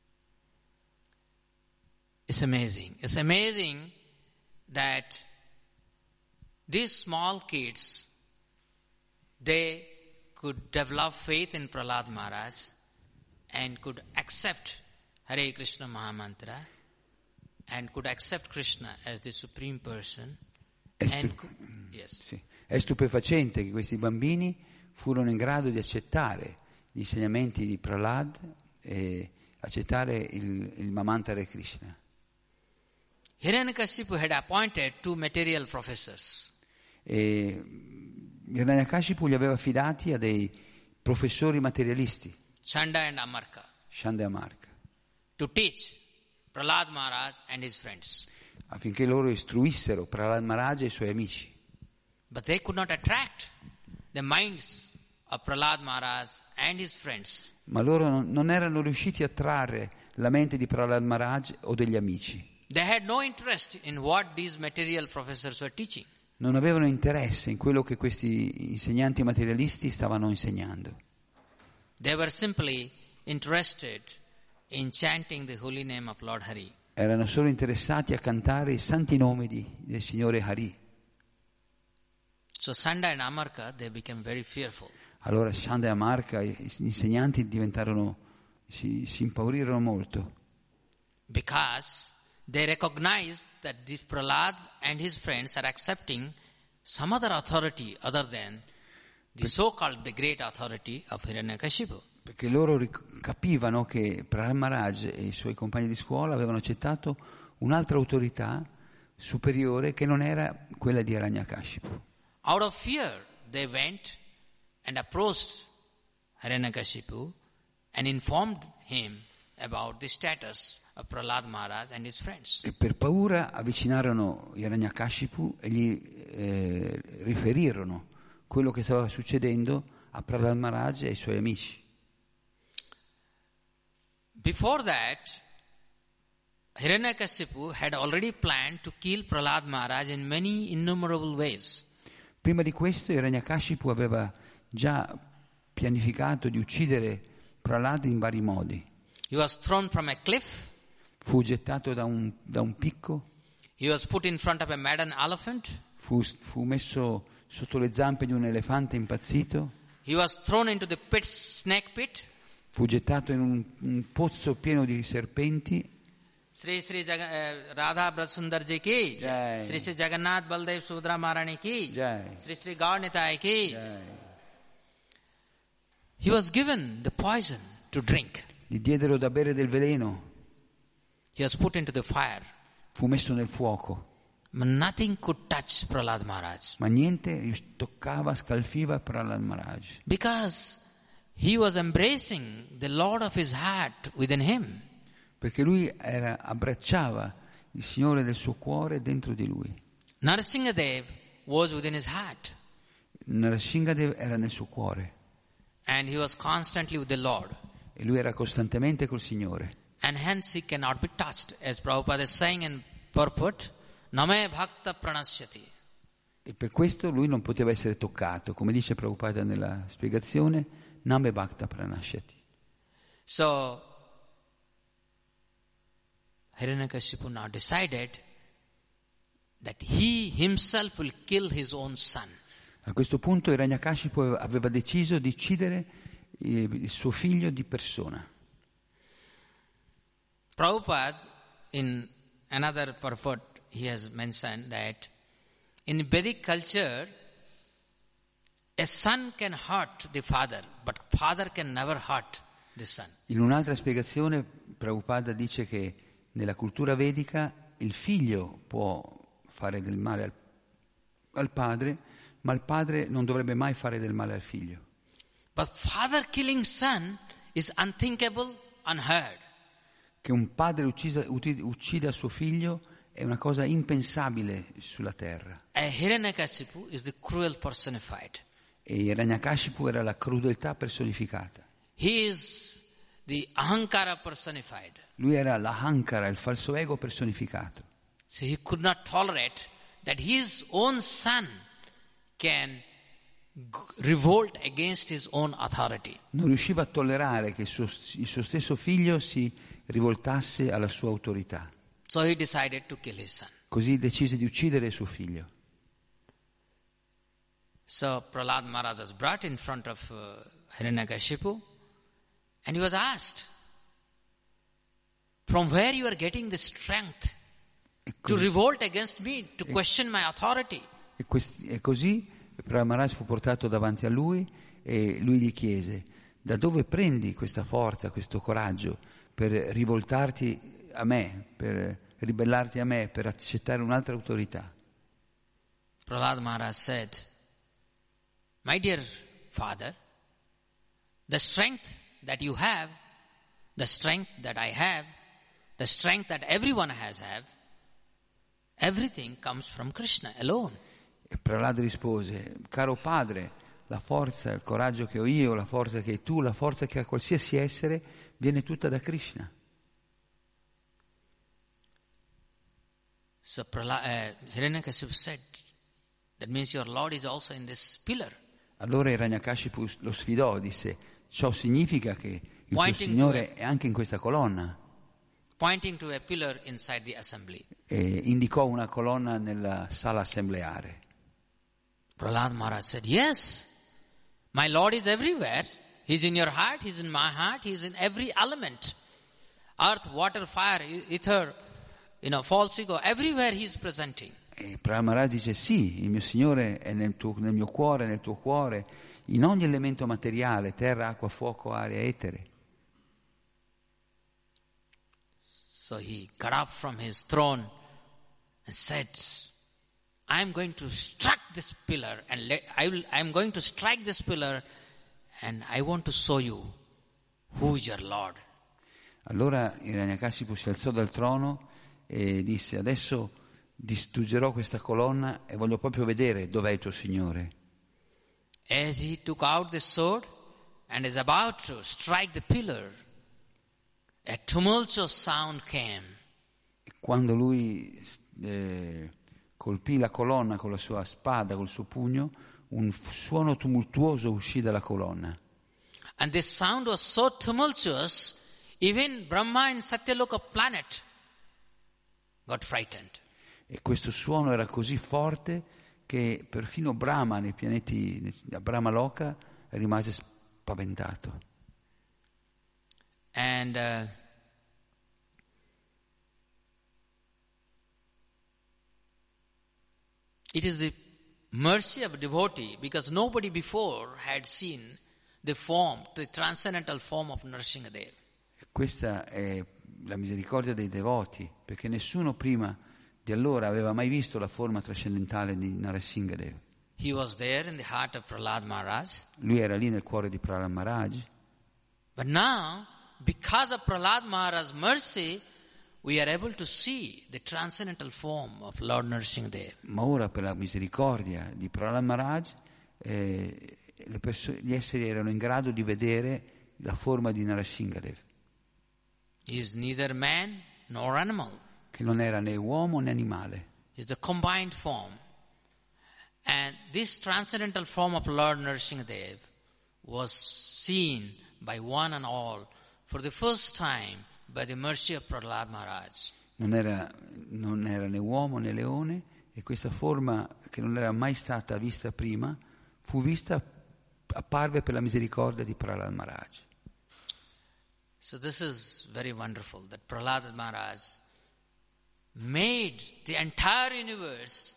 Speaker 2: It's amazing. It's amazing that these small kids, they could develop faith in Prahlad Maharaj and could accept Hare Krishna Mahamantra and could accept Krishna as the supreme person.
Speaker 3: È, stu-
Speaker 2: and could, yes.
Speaker 3: sì. È stupefacente che questi bambini furono in grado di accettare gli insegnamenti di Prahlad e accettare il, il Mahamantra di Krishna.
Speaker 2: Hiranyakashipu had appointed two material professors.
Speaker 3: E Hiranyakashipu li aveva affidati a dei professori materialisti,
Speaker 2: Chanda and Amarka,
Speaker 3: Chanda e Amarka,
Speaker 2: to teach Prahlad Maharaj and his friends.
Speaker 3: affinché loro istruissero Prahlad Maharaj e i suoi amici.
Speaker 2: But they could not attract the minds of Prahlad Maharaj and his friends.
Speaker 3: Ma loro non, non erano riusciti a trarre la mente di Prahlad Maharaj o degli amici.
Speaker 2: They had no interest in what these material professors were teaching.
Speaker 3: Non avevano interesse in quello che questi insegnanti materialisti stavano insegnando.
Speaker 2: They were simply interested in chanting the holy name of Lord Hari.
Speaker 3: Erano solo interessati a cantare i santi nomi di, del Signore Hari.
Speaker 2: So Chanda and Amarka, they became very fearful.
Speaker 3: Allora Chanda e Amarka, gli insegnanti, diventarono, si, si impaurirono molto.
Speaker 2: Because they recognized that this Prahlad and his friends are accepting some other authority other than the so-called the great authority of Hiranyakashipu.
Speaker 3: Perché loro ric- capivano che Prahlad Maharaj e i suoi compagni di scuola avevano accettato un'altra autorità superiore che non era quella di Hiranyakashipu.
Speaker 2: Out of fear, they went and approached Hiranyakashipu and informed him about the status of Prahlad Maharaj and his friends.
Speaker 3: E per paura avvicinarono Hiranyakashipu e gli eh, riferirono quello che stava succedendo a Prahlad Maharaj e ai suoi amici.
Speaker 2: Before that, Hiranyakashipu had already planned to kill Prahlad Maharaj in many innumerable ways.
Speaker 3: Prima di questo Hiranyakashipu aveva già pianificato di uccidere Prahlad in vari modi.
Speaker 2: He was thrown from a cliff.
Speaker 3: Fu gettato da un, da un picco,
Speaker 2: He was put in front of a maddened elephant.
Speaker 3: fu, fu messo sotto le zampe di un elefante impazzito,
Speaker 2: He was thrown into the pit, snake pit.
Speaker 3: fu gettato in un, un pozzo pieno di serpenti.
Speaker 2: Sri Sri Jag- uh, Radha Brasundar ji ki,
Speaker 3: Jai.
Speaker 2: Sri Sri Jagannath Baldev Subhadra Maharani ki,
Speaker 3: Jai.
Speaker 2: Sri Sri Gaur Nitai ki.
Speaker 3: Eh,
Speaker 2: He was given the poison to drink.
Speaker 3: Gli diedero da bere del veleno,
Speaker 2: He was put into the fire.
Speaker 3: fu messo nel fuoco.
Speaker 2: But nothing could touch Prahlad Maharaj.
Speaker 3: Ma niente toccava, scalfiva Prahlad Maharaj.
Speaker 2: Because he was embracing the Lord of his heart within him.
Speaker 3: Perché lui era, abbracciava il Signore del suo cuore dentro di lui.
Speaker 2: Narasimhadev was within his heart.
Speaker 3: Narasimhadev era nel suo cuore.
Speaker 2: And he was constantly with the Lord.
Speaker 3: E lui era costantemente col Signore.
Speaker 2: And hence he cannot be touched. As Prabhupada is saying in purport, Name Bhakta Pranashyati.
Speaker 3: E per questo lui non poteva essere toccato, come dice Prabhupada nella spiegazione, Name Bhakta Pranashyati.
Speaker 2: So, Hiranyakashipu now decided that he himself will kill his own son.
Speaker 3: A questo punto Hiranyakashipu aveva deciso di uccidere il suo figlio di persona.
Speaker 2: Prabhupada, in another purport, he has mentioned that in Vedic culture, a son can hurt the father, but father can never hurt the son.
Speaker 3: In un'altra spiegazione, Prabhupada dice che nella cultura vedica il figlio può fare del male al, al padre, ma il padre non dovrebbe mai fare del male al figlio.
Speaker 2: But father killing son is unthinkable, unheard.
Speaker 3: Che un padre uccisa, uccida suo figlio è una cosa impensabile sulla terra.
Speaker 2: A Hiranyakashipu is the cruel personified.
Speaker 3: E Hiranyakashipu era la crudeltà personificata.
Speaker 2: He is the ahankara personified.
Speaker 3: Lui era l'ahankara, il falso ego personificato.
Speaker 2: So he could not tolerate that his own son can revolt against his own authority.
Speaker 3: Non riusciva a tollerare che il suo, il suo stesso figlio si rivoltasse alla sua autorità.
Speaker 2: So he decided to kill his son.
Speaker 3: Così decise di uccidere suo figlio.
Speaker 2: So Prahlad Maharaj was brought in front of uh, Hiranyakashipu and he was asked, from where you are getting the strength to revolt against me, to question my authority?
Speaker 3: E, questi, e così Prahlad Maharaj fu portato davanti a lui e lui gli chiese: da dove prendi questa forza, questo coraggio per rivoltarti a me, per ribellarti a me, per accettare un'altra autorità?
Speaker 2: Prahlad Maharaj said, my dear father, the strength that you have, the strength that I have, the strength that everyone has have, everything comes from Krishna alone.
Speaker 3: E Prahlad rispose: caro padre, la forza, il coraggio che ho io, la forza che hai tu, la forza che ha qualsiasi essere, viene tutta da Krishna.
Speaker 2: So Prahlad, uh, Hiranyakashipu said, that means your Lord is also in this pillar.
Speaker 3: Allora Hiranyakashipu lo sfidò, disse: ciò significa che il tuo Signore è anche in questa colonna.
Speaker 2: Pointing to a pillar inside the assembly.
Speaker 3: E indicò una colonna nella sala assembleare.
Speaker 2: Prahlad Maharaj said, yes, my Lord is everywhere. He's in your heart, he's in my heart, he's in every element. Earth, water, fire, ether, you know, false ego, everywhere he's presenting.
Speaker 3: E Prahlad Maharaj dice: sì, il mio Signore è nel, tuo, nel mio cuore, nel tuo cuore, in ogni elemento materiale, terra, acqua, fuoco, aria, etere.
Speaker 2: So he got up from his throne and said, I am going to strike this pillar and let, I will, I am going to strike this pillar and I want to show you who is your Lord.
Speaker 3: Allora Hiranyakashipu si alzò dal trono e disse: adesso distruggerò questa colonna e voglio proprio vedere dov'è il tuo Signore.
Speaker 2: As he took out the sword and is about to strike the pillar, a tumultuous sound came.
Speaker 3: E quando lui eh, colpì la colonna con la sua spada, col suo pugno, un suono tumultuoso uscì dalla colonna.
Speaker 2: And this sound was so tumultuous, even Brahma in Satyaloka planet got frightened.
Speaker 3: E questo suono era così forte che perfino Brahma nei pianeti, a Brahmaloka, rimase spaventato.
Speaker 2: And uh, it is the mercy of a devotee, because nobody before had seen the form, the transcendental form of Nrsimhadev.
Speaker 3: Questa è la misericordia dei devoti, perché nessuno prima di allora aveva mai visto la forma trascendentale di Narasimhadev.
Speaker 2: He was there in the heart of Prahlad Maharaj.
Speaker 3: Lui era lì nel cuore di Prahlad Maharaj.
Speaker 2: But now, because of Prahlad Maharaj's mercy, we are able to see the transcendental form of Lord Narasimhadev.
Speaker 3: Ma ora, per la misericordia di Prahlad Maharaj, eh, le perso- gli esseri erano in grado di vedere la forma di Narasimhadev,
Speaker 2: He is neither man nor animal.
Speaker 3: che non era né uomo né animale.
Speaker 2: He is the combined form. And this transcendental form of Lord Narasimhadev was seen by one and all for the first time by the mercy of Prahlad Maharaj.
Speaker 3: Non era, non era né uomo né leone, e questa forma, che non era mai stata vista prima, fu vista, apparve per la misericordia di Prahlad Maharaj.
Speaker 2: So this is very wonderful that Prahlad Maharaj made the entire universe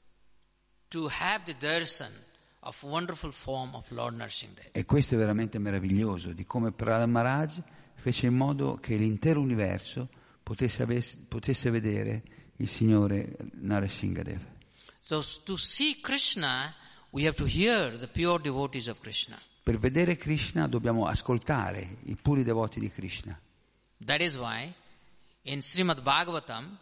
Speaker 2: to have the darshan of wonderful form of Lord Narasimhadev.
Speaker 3: E questo è veramente meraviglioso, di come Prahlad Maharaj fece in modo che l'intero universo potesse, avesse, potesse vedere il Signore Narasimhadev.
Speaker 2: So to see Krishna, we have to hear the pure devotees of Krishna.
Speaker 3: Per vedere Krishna dobbiamo ascoltare i puri devoti di Krishna.
Speaker 2: That is why in Srimad Bhagavatam,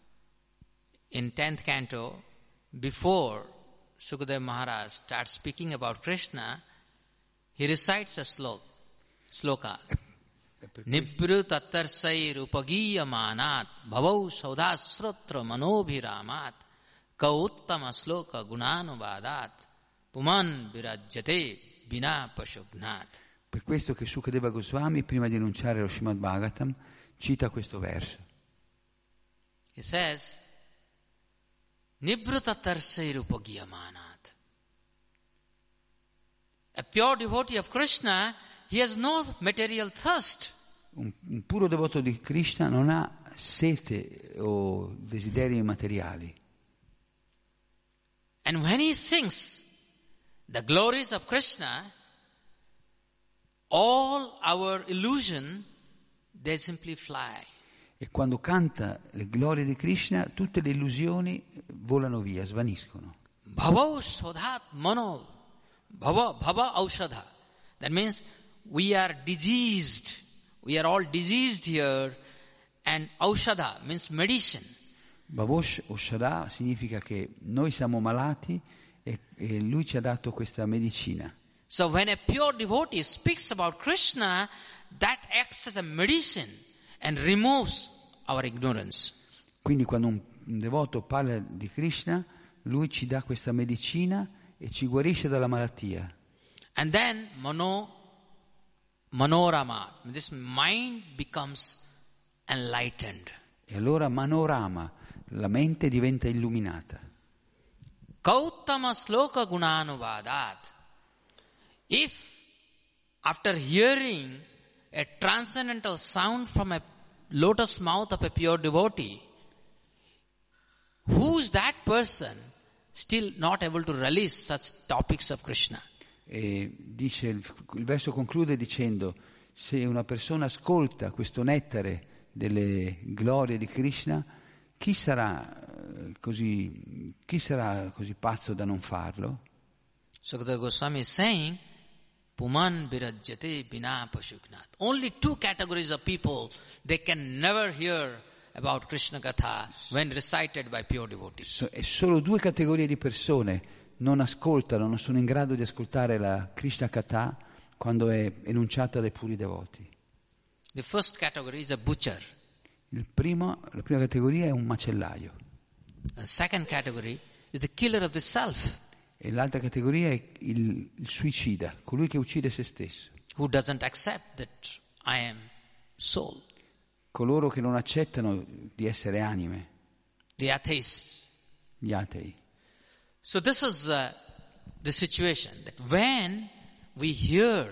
Speaker 2: in tenth canto, before Sukadeva Maharaj starts speaking about Krishna, he recites a slok, sloka. Nibru tattarsai rupagiyamanat bhavau saudasrotra manobhiramat kauttama sloka gunanuvadat puman virajyate bina pashugnat.
Speaker 3: Per questo che Sukadeva Goswami, prima di enunciare lo Srimad Bhagavatam, cita questo verso.
Speaker 2: He says, Nibruta tarsai rupagiyamanat. A pure devotee of Krishna, he has no material thirst.
Speaker 3: Un, un puro devoto di Krishna non ha sete o desideri materiali.
Speaker 2: And when he sings the glories of Krishna, all our illusion, they simply fly.
Speaker 3: E quando canta le glorie di Krishna, tutte le illusioni volano via, svaniscono.
Speaker 2: Bhava sodhat mano, bhava, bhava aushadha. That means we are diseased. We are all diseased here. And aushadha means medicine.
Speaker 3: Bhavosh Oshada significa che noi siamo malati e, e lui ci ha dato questa medicina.
Speaker 2: So when a pure devotee speaks about Krishna, that acts as a medicine and removes our ignorance.
Speaker 3: Quindi quando un, un devoto parla di Krishna, lui ci dà questa medicina e ci guarisce dalla malattia.
Speaker 2: And then mano, manorama, this mind becomes enlightened.
Speaker 3: E allora Manorama, la mente diventa illuminata.
Speaker 2: Kauttama sloka gunanuvadat. If after hearing a transcendental sound from a lotus mouth of a pure devotee, who is that person still not able to release such topics of Krishna?
Speaker 3: E dice, il, il verso conclude dicendo: se una persona ascolta questo nettare delle glorie di Krishna, chi sarà così, chi sarà così pazzo da non farlo?
Speaker 2: Sukadeva Goswami is saying, Puman virajyate bina pashugnat. Only two categories of people, they can never hear about Krishna Katha when recited by pure devotees.
Speaker 3: So, e solo due categorie di persone non ascoltano, non sono in grado di ascoltare la Krishna Katha quando è enunciata dai puri devoti.
Speaker 2: The first category is a butcher.
Speaker 3: Il primo, la prima categoria è un macellaio.
Speaker 2: The second category is the killer of the self,
Speaker 3: E l'altra categoria è il, il suicida, colui che uccide se stesso.
Speaker 2: who doesn't accept that I am soul.
Speaker 3: Coloro che non accettano di essere anime,
Speaker 2: The atheists.
Speaker 3: gli atei.
Speaker 2: So this is uh, the situation that when we hear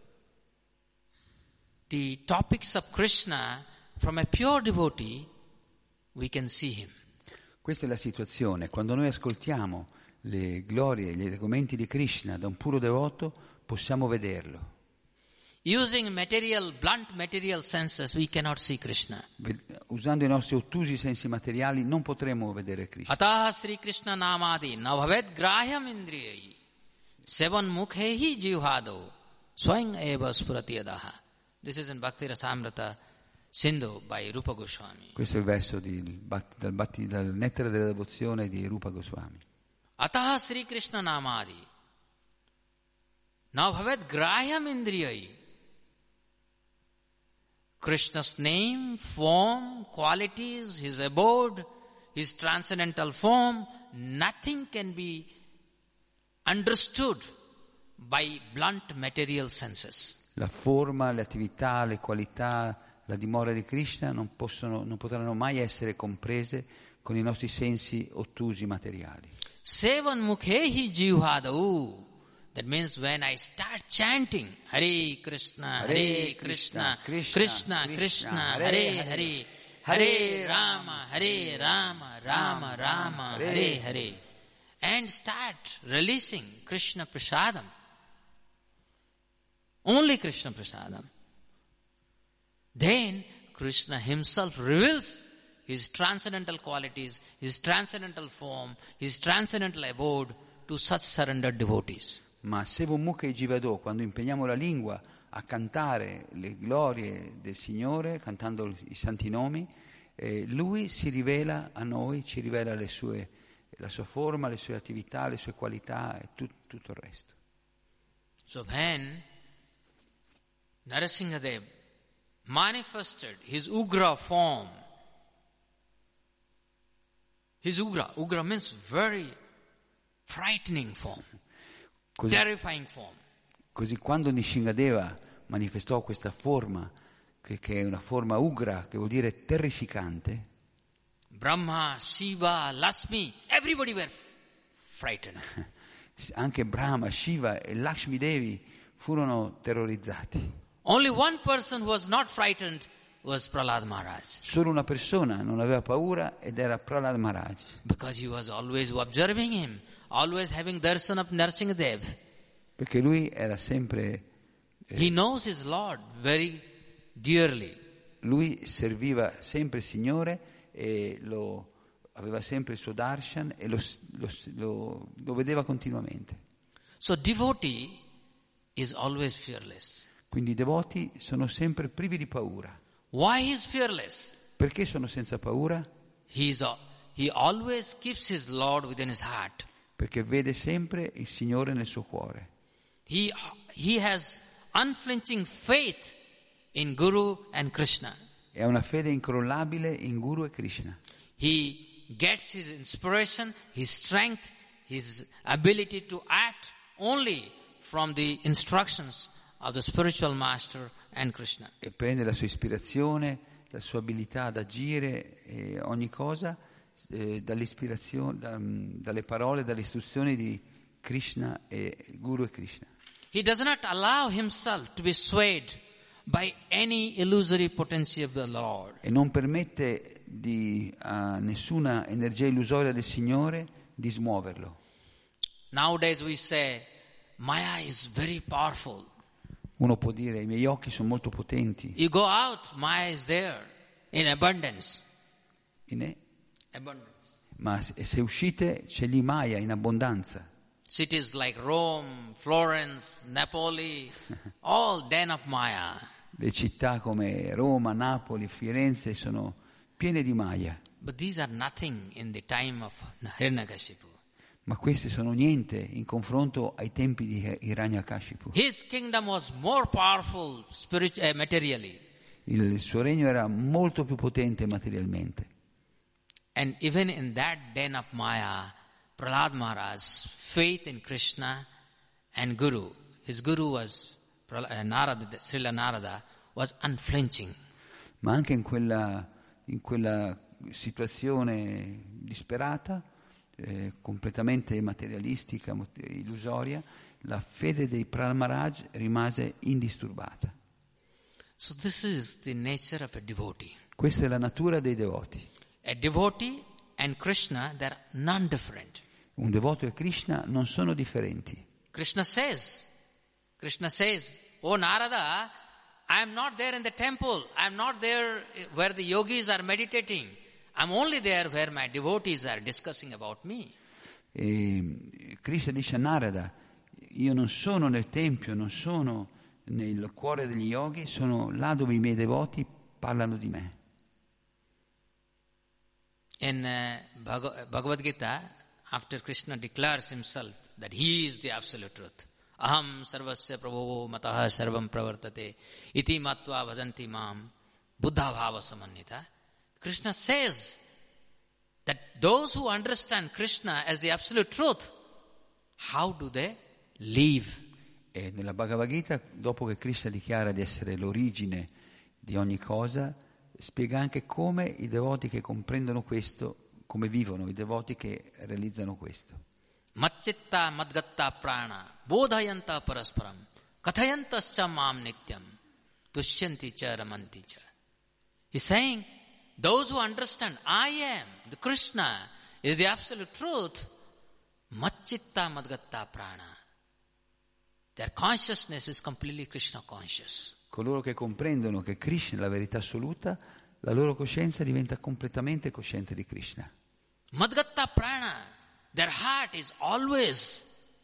Speaker 2: the topics of Krishna from a pure devotee, we can see him.
Speaker 3: Questa è la situazione. Quando noi ascoltiamo le glorie, gli argomenti di Krishna da un puro devoto, possiamo vederlo.
Speaker 2: using material, blunt material senses, we cannot see Krishna.
Speaker 3: Usando i nostri ottusi sensi materiali non potremo vedere Krishna.
Speaker 2: Ataha Sri Krishna namadi navabhed grahyam indriyai sevan mukhehi jivhado swayam eva spurati adaha. This is in Bhakti Rasamrita Sindhu by Rupa Goswami.
Speaker 3: Questo è il verso di, dal, dal Nettare della devozione di Rupa Goswami.
Speaker 2: Ataha Sri Krishna namadi navabhed grahyam indriyai. Krishna's name, form, qualities, his abode, his transcendental form, nothing can be understood by blunt material senses.
Speaker 3: La forma, le attività, le qualità, la dimora di Krishna non possono, non potranno mai essere comprese con i nostri sensi ottusi materiali.
Speaker 2: Sevan mukhehi jivhadau. That means when I start chanting Hare Krishna, Hare Krishna, Krishna Krishna, Hare Hare, Hare Rama, Hare Rama, Rama Rama, Hare Hare, and start releasing Krishna Prasadam, only Krishna Prasadam, then Krishna himself reveals his transcendental qualities, his transcendental form, his transcendental abode to such surrendered devotees.
Speaker 3: Ma Sevan Mukha Jivado, quando impegniamo la lingua a cantare le glorie del Signore, cantando i santi nomi, eh, Lui si rivela a noi, ci rivela le sue, la sua forma, le sue attività, le sue qualità e tut, tutto il resto.
Speaker 2: So when Narasimhadev manifested his Ugra form, his Ugra, Ugra means very frightening form.
Speaker 3: Così,
Speaker 2: terrifying form.
Speaker 3: Così quando Nishingadeva manifestò questa forma, che, che è una forma ugra, che vuol dire terrificante,
Speaker 2: Brahma, Shiva, Lakshmi, everybody were frightened.
Speaker 3: Anche Brahma, Shiva e Lakshmi Devi furono terrorizzati.
Speaker 2: Only one person who was not frightened was Prahlad Maharaj.
Speaker 3: Solo una persona non aveva paura ed era Prahlad Maharaj.
Speaker 2: Because he was always observing him. Always having darshan of Narasimhadev.
Speaker 3: Perché lui era sempre...
Speaker 2: Eh, He knows his Lord very dearly.
Speaker 3: Lui serviva sempre il Signore e lo, aveva sempre il suo darshan e lo, lo, lo, lo vedeva continuamente.
Speaker 2: So devotee is always fearless.
Speaker 3: Quindi i devoti sono sempre privi di paura.
Speaker 2: Why is fearless?
Speaker 3: Perché sono senza paura?
Speaker 2: He, is, he always keeps his Lord within his heart.
Speaker 3: Perché vede sempre il Signore nel suo cuore.
Speaker 2: He, he has unflinching faith in Guru and Krishna.
Speaker 3: E ha una fede incrollabile in Guru e Krishna.
Speaker 2: He gets his inspiration, his strength, his ability to act only from the instructions of the spiritual master and Krishna.
Speaker 3: E prende la sua ispirazione, la sua abilità ad agire e ogni cosa Eh, dall'ispirazione, da, dalle parole, dalle istruzioni di Krishna e Guru e Krishna.
Speaker 2: He does not allow himself to be swayed by any illusory potency of the Lord.
Speaker 3: E non permette di, a nessuna energia illusoria del Signore di smuoverlo.
Speaker 2: Nowadays we say, Maya is very powerful.
Speaker 3: Uno può dire, i miei occhi sono molto potenti.
Speaker 2: You go out, Maya is there in abundance.
Speaker 3: In
Speaker 2: Abundance.
Speaker 3: Ma se uscite c'è lì Maya in abbondanza.
Speaker 2: Cities like Rome, Florence, Napoli, all den of Maya.
Speaker 3: Le città come Roma, Napoli, Firenze sono piene di Maya.
Speaker 2: But these are nothing in the time of Hiranyakashipu.
Speaker 3: Ma queste sono niente in confronto ai tempi di Hiranyakashipu.
Speaker 2: His kingdom was more powerful spiritually, uh, materially.
Speaker 3: Il suo regno era molto più potente materialmente.
Speaker 2: And even in that den of Maya, Prahlad Maharaj's faith in Krishna and Guru, his Guru was Narada, Srila Narada, was unflinching.
Speaker 3: Ma anche in quella, in quella situazione disperata, eh, completamente materialistica, illusoria, la fede dei Prahlad Maharaj rimase indisturbata.
Speaker 2: So this is the nature of a devotee.
Speaker 3: Questa è la natura dei devoti.
Speaker 2: A devotee and Krishna, they are non-different.
Speaker 3: Un devoto e Krishna non sono differenti.
Speaker 2: Krishna says, Krishna says "Oh Narada, I am not there in the temple. I am not there where the yogis are meditating. I am only there where my devotees are discussing about me."
Speaker 3: E Krishna dice a Narada: io non sono nel tempio, non sono nel cuore degli yogi, sono là dove i miei devoti parlano di me.
Speaker 2: In uh, Bhag- Bhagavad Gita, after Krishna declares himself that he is the absolute truth, aham sarvasya prabho matah sarvam pravartate iti matva bhajanti mam buddha bhava samannita, Krishna says that those who understand Krishna as the absolute truth, how do they live?
Speaker 3: E nella Bhagavad Gita, dopo che Krishna dichiara di essere l'origine di ogni cosa, spiega anche come i devoti che comprendono questo, come vivono i devoti che realizzano questo.
Speaker 2: Macchitta madgatta prana bodhayanta parasparam kathayantascha mam nityam tushyanti cha ramanti cha. He's saying, those who understand I am, the Krishna is the absolute truth, macchitta madgatta prana. Their consciousness is completely Krishna conscious.
Speaker 3: Coloro che comprendono che Krishna è la verità assoluta, la loro coscienza diventa completamente cosciente di Krishna.
Speaker 2: Madgatta prana, their heart is always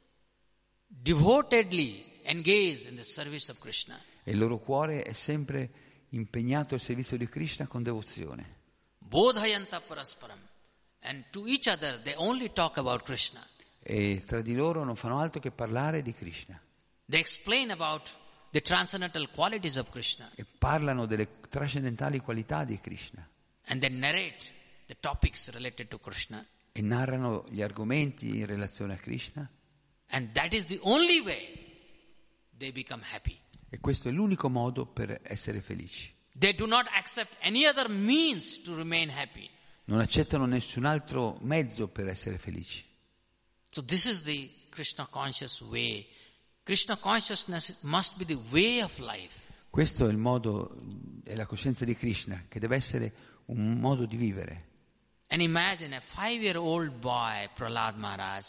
Speaker 2: devotedly engaged in the service of Krishna.
Speaker 3: E il loro cuore è sempre impegnato al servizio di Krishna con devozione.
Speaker 2: Bodhayanta parasparam. And to each other they only talk about Krishna.
Speaker 3: E tra di loro non fanno altro che parlare di Krishna.
Speaker 2: They explain about the transcendental qualities of Krishna.
Speaker 3: E parlano delle trascendentali qualità di Krishna.
Speaker 2: And they narrate the topics related to Krishna.
Speaker 3: E narrano gli argomenti in relazione a Krishna.
Speaker 2: And that is the only way they become happy.
Speaker 3: E questo è l'unico modo per essere felici.
Speaker 2: They do not accept any other means to remain happy.
Speaker 3: Non accettano nessun altro mezzo per essere felici.
Speaker 2: So this is the Krishna conscious way. Krishna consciousness must be the way of life.
Speaker 3: Questo è il modo, è la coscienza di Krishna, che deve essere un modo di vivere.
Speaker 2: And imagine a five-year-old boy, Prahlad Maharaj,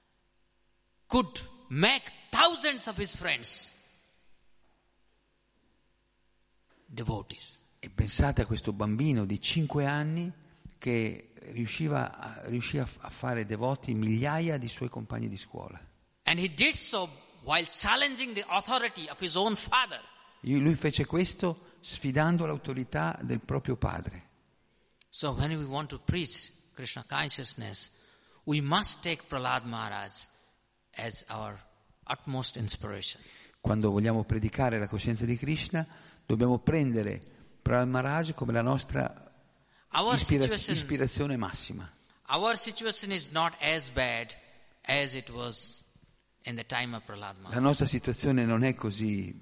Speaker 2: could make thousands of his friends devotees.
Speaker 3: E pensate a questo bambino di cinque anni che riusciva a, riuscì a fare devoti migliaia di suoi compagni di scuola.
Speaker 2: And he did so while challenging the authority of his own father.
Speaker 3: Lui fece questo sfidando l'autorità del proprio padre.
Speaker 2: So when we want to preach Krishna consciousness, we must take Prahlad Maharaj as our utmost inspiration.
Speaker 3: Quando vogliamo predicare la coscienza di Krishna, dobbiamo prendere Prahlad Maharaj come la nostra ispira- ispirazione massima.
Speaker 2: Our situation is not as bad as it was in the time of Prahlad Maharaj.
Speaker 3: La nostra situazione non è così,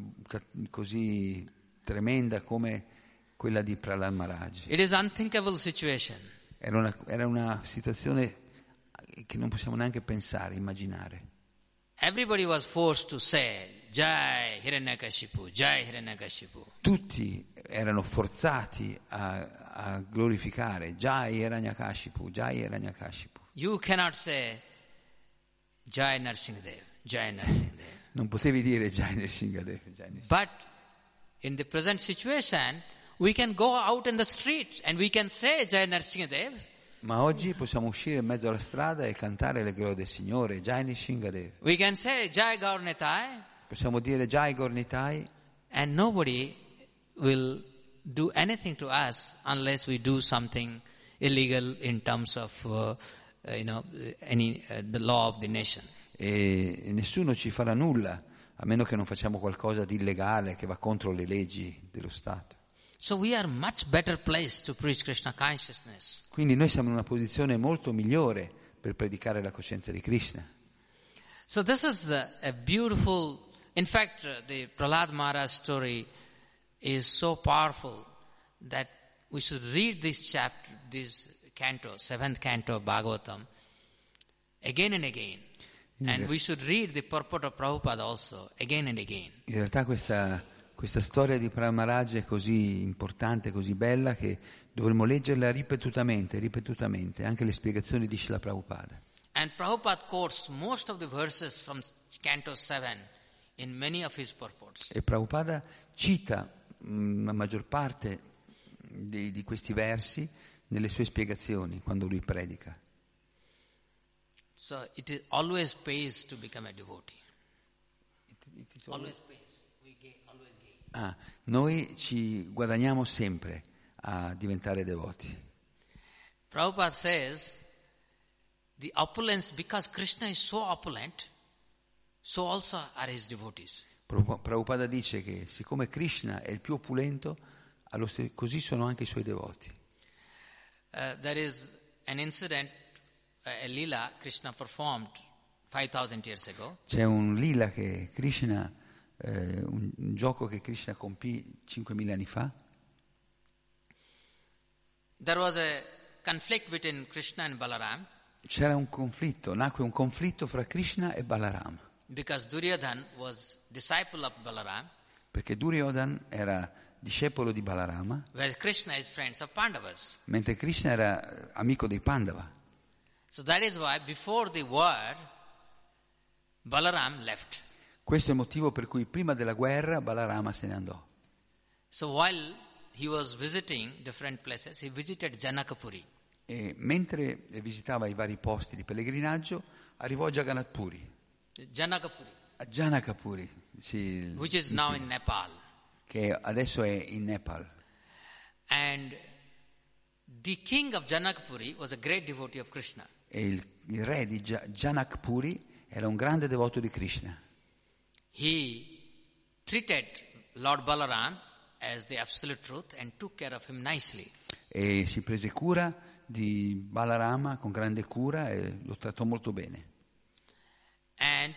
Speaker 3: così tremenda come quella di Prahlad Maharaj.
Speaker 2: It is unthinkable situation.
Speaker 3: Era una, era una situazione che non possiamo neanche pensare, immaginare.
Speaker 2: Everybody was forced to say Jai Hiranyakashipu, Jai Hiranyakashipu.
Speaker 3: Tutti erano forzati a, a glorificare Jai Hiranyakashipu, Jai Hiranyakashipu.
Speaker 2: You cannot say Jai Nrsimhadev, Jai Nrsimhadev.
Speaker 3: Non potevi dire Jai Nrsimhadev, Jai Nrsimhadev.
Speaker 2: But in the present situation, we can go out in the street and we can say Jai Nrsimhadev.
Speaker 3: Ma oggi possiamo uscire in mezzo alla strada e cantare le glorie del Signore, Jai Nrsimhadev.
Speaker 2: We can say Jai Gaurnitai.
Speaker 3: Possiamo dire Jai Gaurnitai.
Speaker 2: And nobody will do anything to us unless we do something illegal in terms of, uh, uh, you know, any uh, the law of the nation.
Speaker 3: E nessuno ci farà nulla, a meno che non facciamo qualcosa di illegale che va contro le leggi dello Stato.
Speaker 2: So we are much better placed to preach Krishna consciousness.
Speaker 3: Quindi noi siamo in una posizione molto migliore per predicare la coscienza di Krishna.
Speaker 2: So this is a, a beautiful, in fact, uh, the Prahlad Maharaj story is so powerful that we should read this chapter, this canto, seventh canto of Bhagavatam, again and again. And we should read the purport of Prabhupada also, again and again.
Speaker 3: In realtà questa, questa storia di Prahlad Maharaj è così importante, così bella, che dovremmo leggerla ripetutamente, ripetutamente, anche le spiegazioni di Srila Prabhupada.
Speaker 2: And Prabhupada quotes most of the verses from canto seven in many of his purports.
Speaker 3: E Prabhupada cita mh, la maggior parte di, di questi versi nelle sue spiegazioni quando lui predica.
Speaker 2: So it is always pays to become a devotee.
Speaker 3: It, it is
Speaker 2: Always pays. We gain, always gain.
Speaker 3: Ah, noi ci guadagniamo sempre a diventare devoti.
Speaker 2: Prabhupada says the opulence, because Krishna is so opulent, so also are his devotees.
Speaker 3: Prabhupada dice che siccome Krishna è il più opulento, allo stesso, così sono anche i suoi devoti.
Speaker 2: Uh, there is an incident, uh, a lila Krishna performed five thousand years ago.
Speaker 3: C'è un lila che Krishna, eh, un, un gioco che Krishna compì cinquemila anni fa.
Speaker 2: There was a conflict between Krishna and Balaram.
Speaker 3: C'era un conflitto, nacque un conflitto fra Krishna e Balaram.
Speaker 2: Because Duryodhan was disciple of Balaram,
Speaker 3: Perché Duryodhan era discepolo di Balarama,
Speaker 2: whereas Krishna is friends of Pandavas.
Speaker 3: mentre Krishna era amico dei Pandava.
Speaker 2: So that is why before the war, Balaram left.
Speaker 3: Questo è il motivo per cui prima della guerra Balarama se ne andò.
Speaker 2: So while he was visiting different places, he visited Janakapuri.
Speaker 3: E mentre visitava i vari posti di pellegrinaggio, arrivò a Jagannath Puri,
Speaker 2: Janakapuri,
Speaker 3: a Janakapuri, sì,
Speaker 2: which is now in Nepal.
Speaker 3: che adesso è in Nepal.
Speaker 2: And the king of Janakapuri was a great devotee of Krishna.
Speaker 3: E il, il re di Ja- Janakpuri era un grande devoto di Krishna.
Speaker 2: He treated Lord Balaram as the absolute truth and took care of him nicely.
Speaker 3: E si prese cura di Balarama con grande cura e lo trattò molto bene.
Speaker 2: And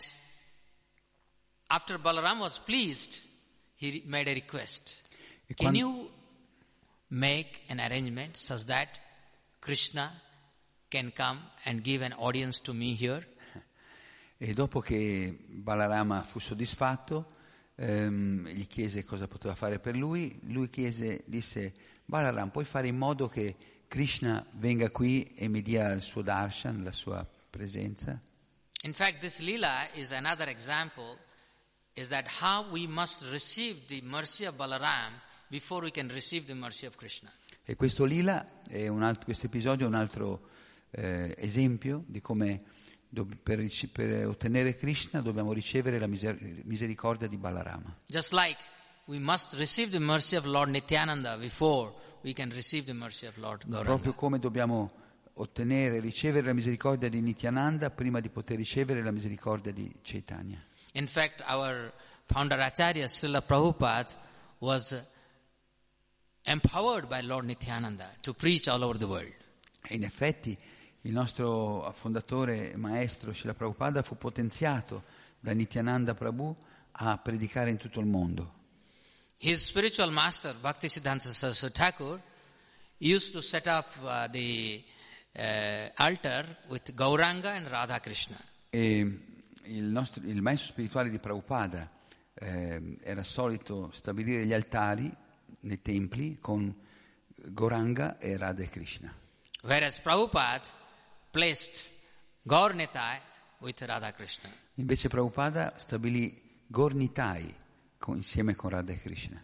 Speaker 2: after Balaram was pleased, he made a request.
Speaker 3: E
Speaker 2: Can
Speaker 3: quando-
Speaker 2: you make an arrangement such that Krishna can come and give an audience to me here?
Speaker 3: E dopo che Balarama fu soddisfatto, ehm, gli chiese cosa poteva fare per lui. Lui chiese, disse: Balaram, puoi fare in modo che Krishna venga qui e mi dia il suo darshan, la sua presenza?
Speaker 2: In fact, this lila is another example, is that how we must receive the mercy of Balaram before we can receive the mercy of Krishna.
Speaker 3: E questo lila, è un altro, questo episodio è un altro eh, esempio di come do- per, ric- per ottenere Krishna dobbiamo ricevere la miser- misericordia di Balarama.
Speaker 2: Just like we must receive the mercy of Lord Nityananda before we can receive the mercy of Lord Gauranga.
Speaker 3: Proprio come dobbiamo ottenere, ricevere la misericordia di Nityananda prima di poter ricevere la misericordia di Chaitanya.
Speaker 2: In fact, our founder Acharya Srila Prabhupada was uh, empowered by Lord Nityananda to preach all over the world.
Speaker 3: E in effetti il nostro fondatore e maestro Srila Prabhupada fu potenziato da Nityananda Prabhu a predicare in tutto il mondo.
Speaker 2: His spiritual master, Bhaktisiddhanta Saraswati Thakur, used to set up uh, the uh, altar with Gauranga and Radha Krishna.
Speaker 3: E il, nostro, il maestro spirituale di Prabhupada eh, era solito stabilire gli altari nei templi con Gauranga e Radha Krishna.
Speaker 2: Whereas Prabhupada placed Gaur Nitai with Radha Krishna.
Speaker 3: Invece Prabhupada stabilì Gaur Nitai con, insieme con Radha Krishna.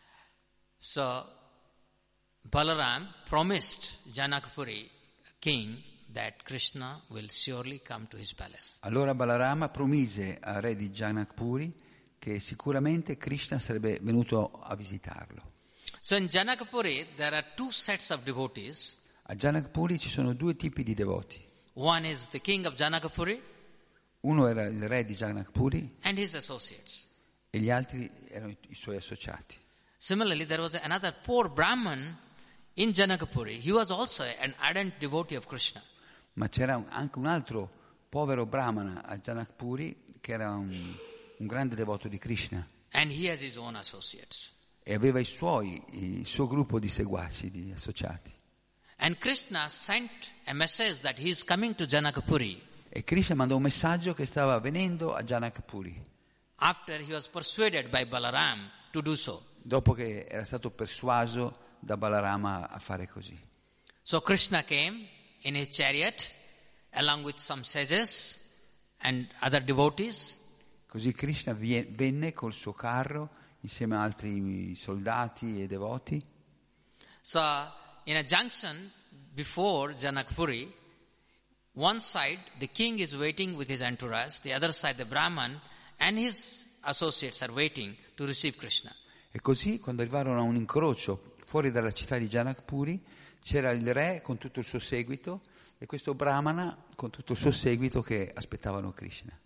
Speaker 2: So Balaram promised Janakapuri king that Krishna will surely come to his palace.
Speaker 3: Allora Balarama promise al re di Janakpuri che sicuramente Krishna sarebbe venuto a visitarlo.
Speaker 2: So in Janakapuri there are two sets of devotees.
Speaker 3: A Janakpuri ci sono due tipi di devoti.
Speaker 2: One is the king of Janakapuri
Speaker 3: Uno era il re di Janakpuri
Speaker 2: and his associates.
Speaker 3: e gli altri erano i, i suoi associati.
Speaker 2: Similarly, there was another poor Brahman in Janakapuri. He was also an ardent devotee of Krishna.
Speaker 3: Ma c'era un- anche un altro povero brahmana a Janakpuri che era un, un grande devoto di Krishna
Speaker 2: And he has his own associates.
Speaker 3: e aveva i suoi, il suo gruppo di seguaci, di associati.
Speaker 2: And Krishna sent a message that he is coming to Janakapuri
Speaker 3: E Krishna mandò un messaggio che stava venendo a Janakpuri
Speaker 2: after he was persuaded by Balaram to do so.
Speaker 3: dopo che era stato persuaso da Balarama a fare così.
Speaker 2: So Krishna came in his chariot along with some sages and other devotees.
Speaker 3: Così Krishna vie- venne col suo carro insieme a altri soldati e devoti.
Speaker 2: So, in a junction before Janakpuri, one side the king is waiting with his entourage, the other side the Brahman and his associates are waiting to receive Krishna.
Speaker 3: E così, quando arrivarono a un incrocio fuori dalla città di Janakpuri, c'era il re con tutto il suo seguito e questo Brahmana con tutto il suo seguito che aspettavano Krishna.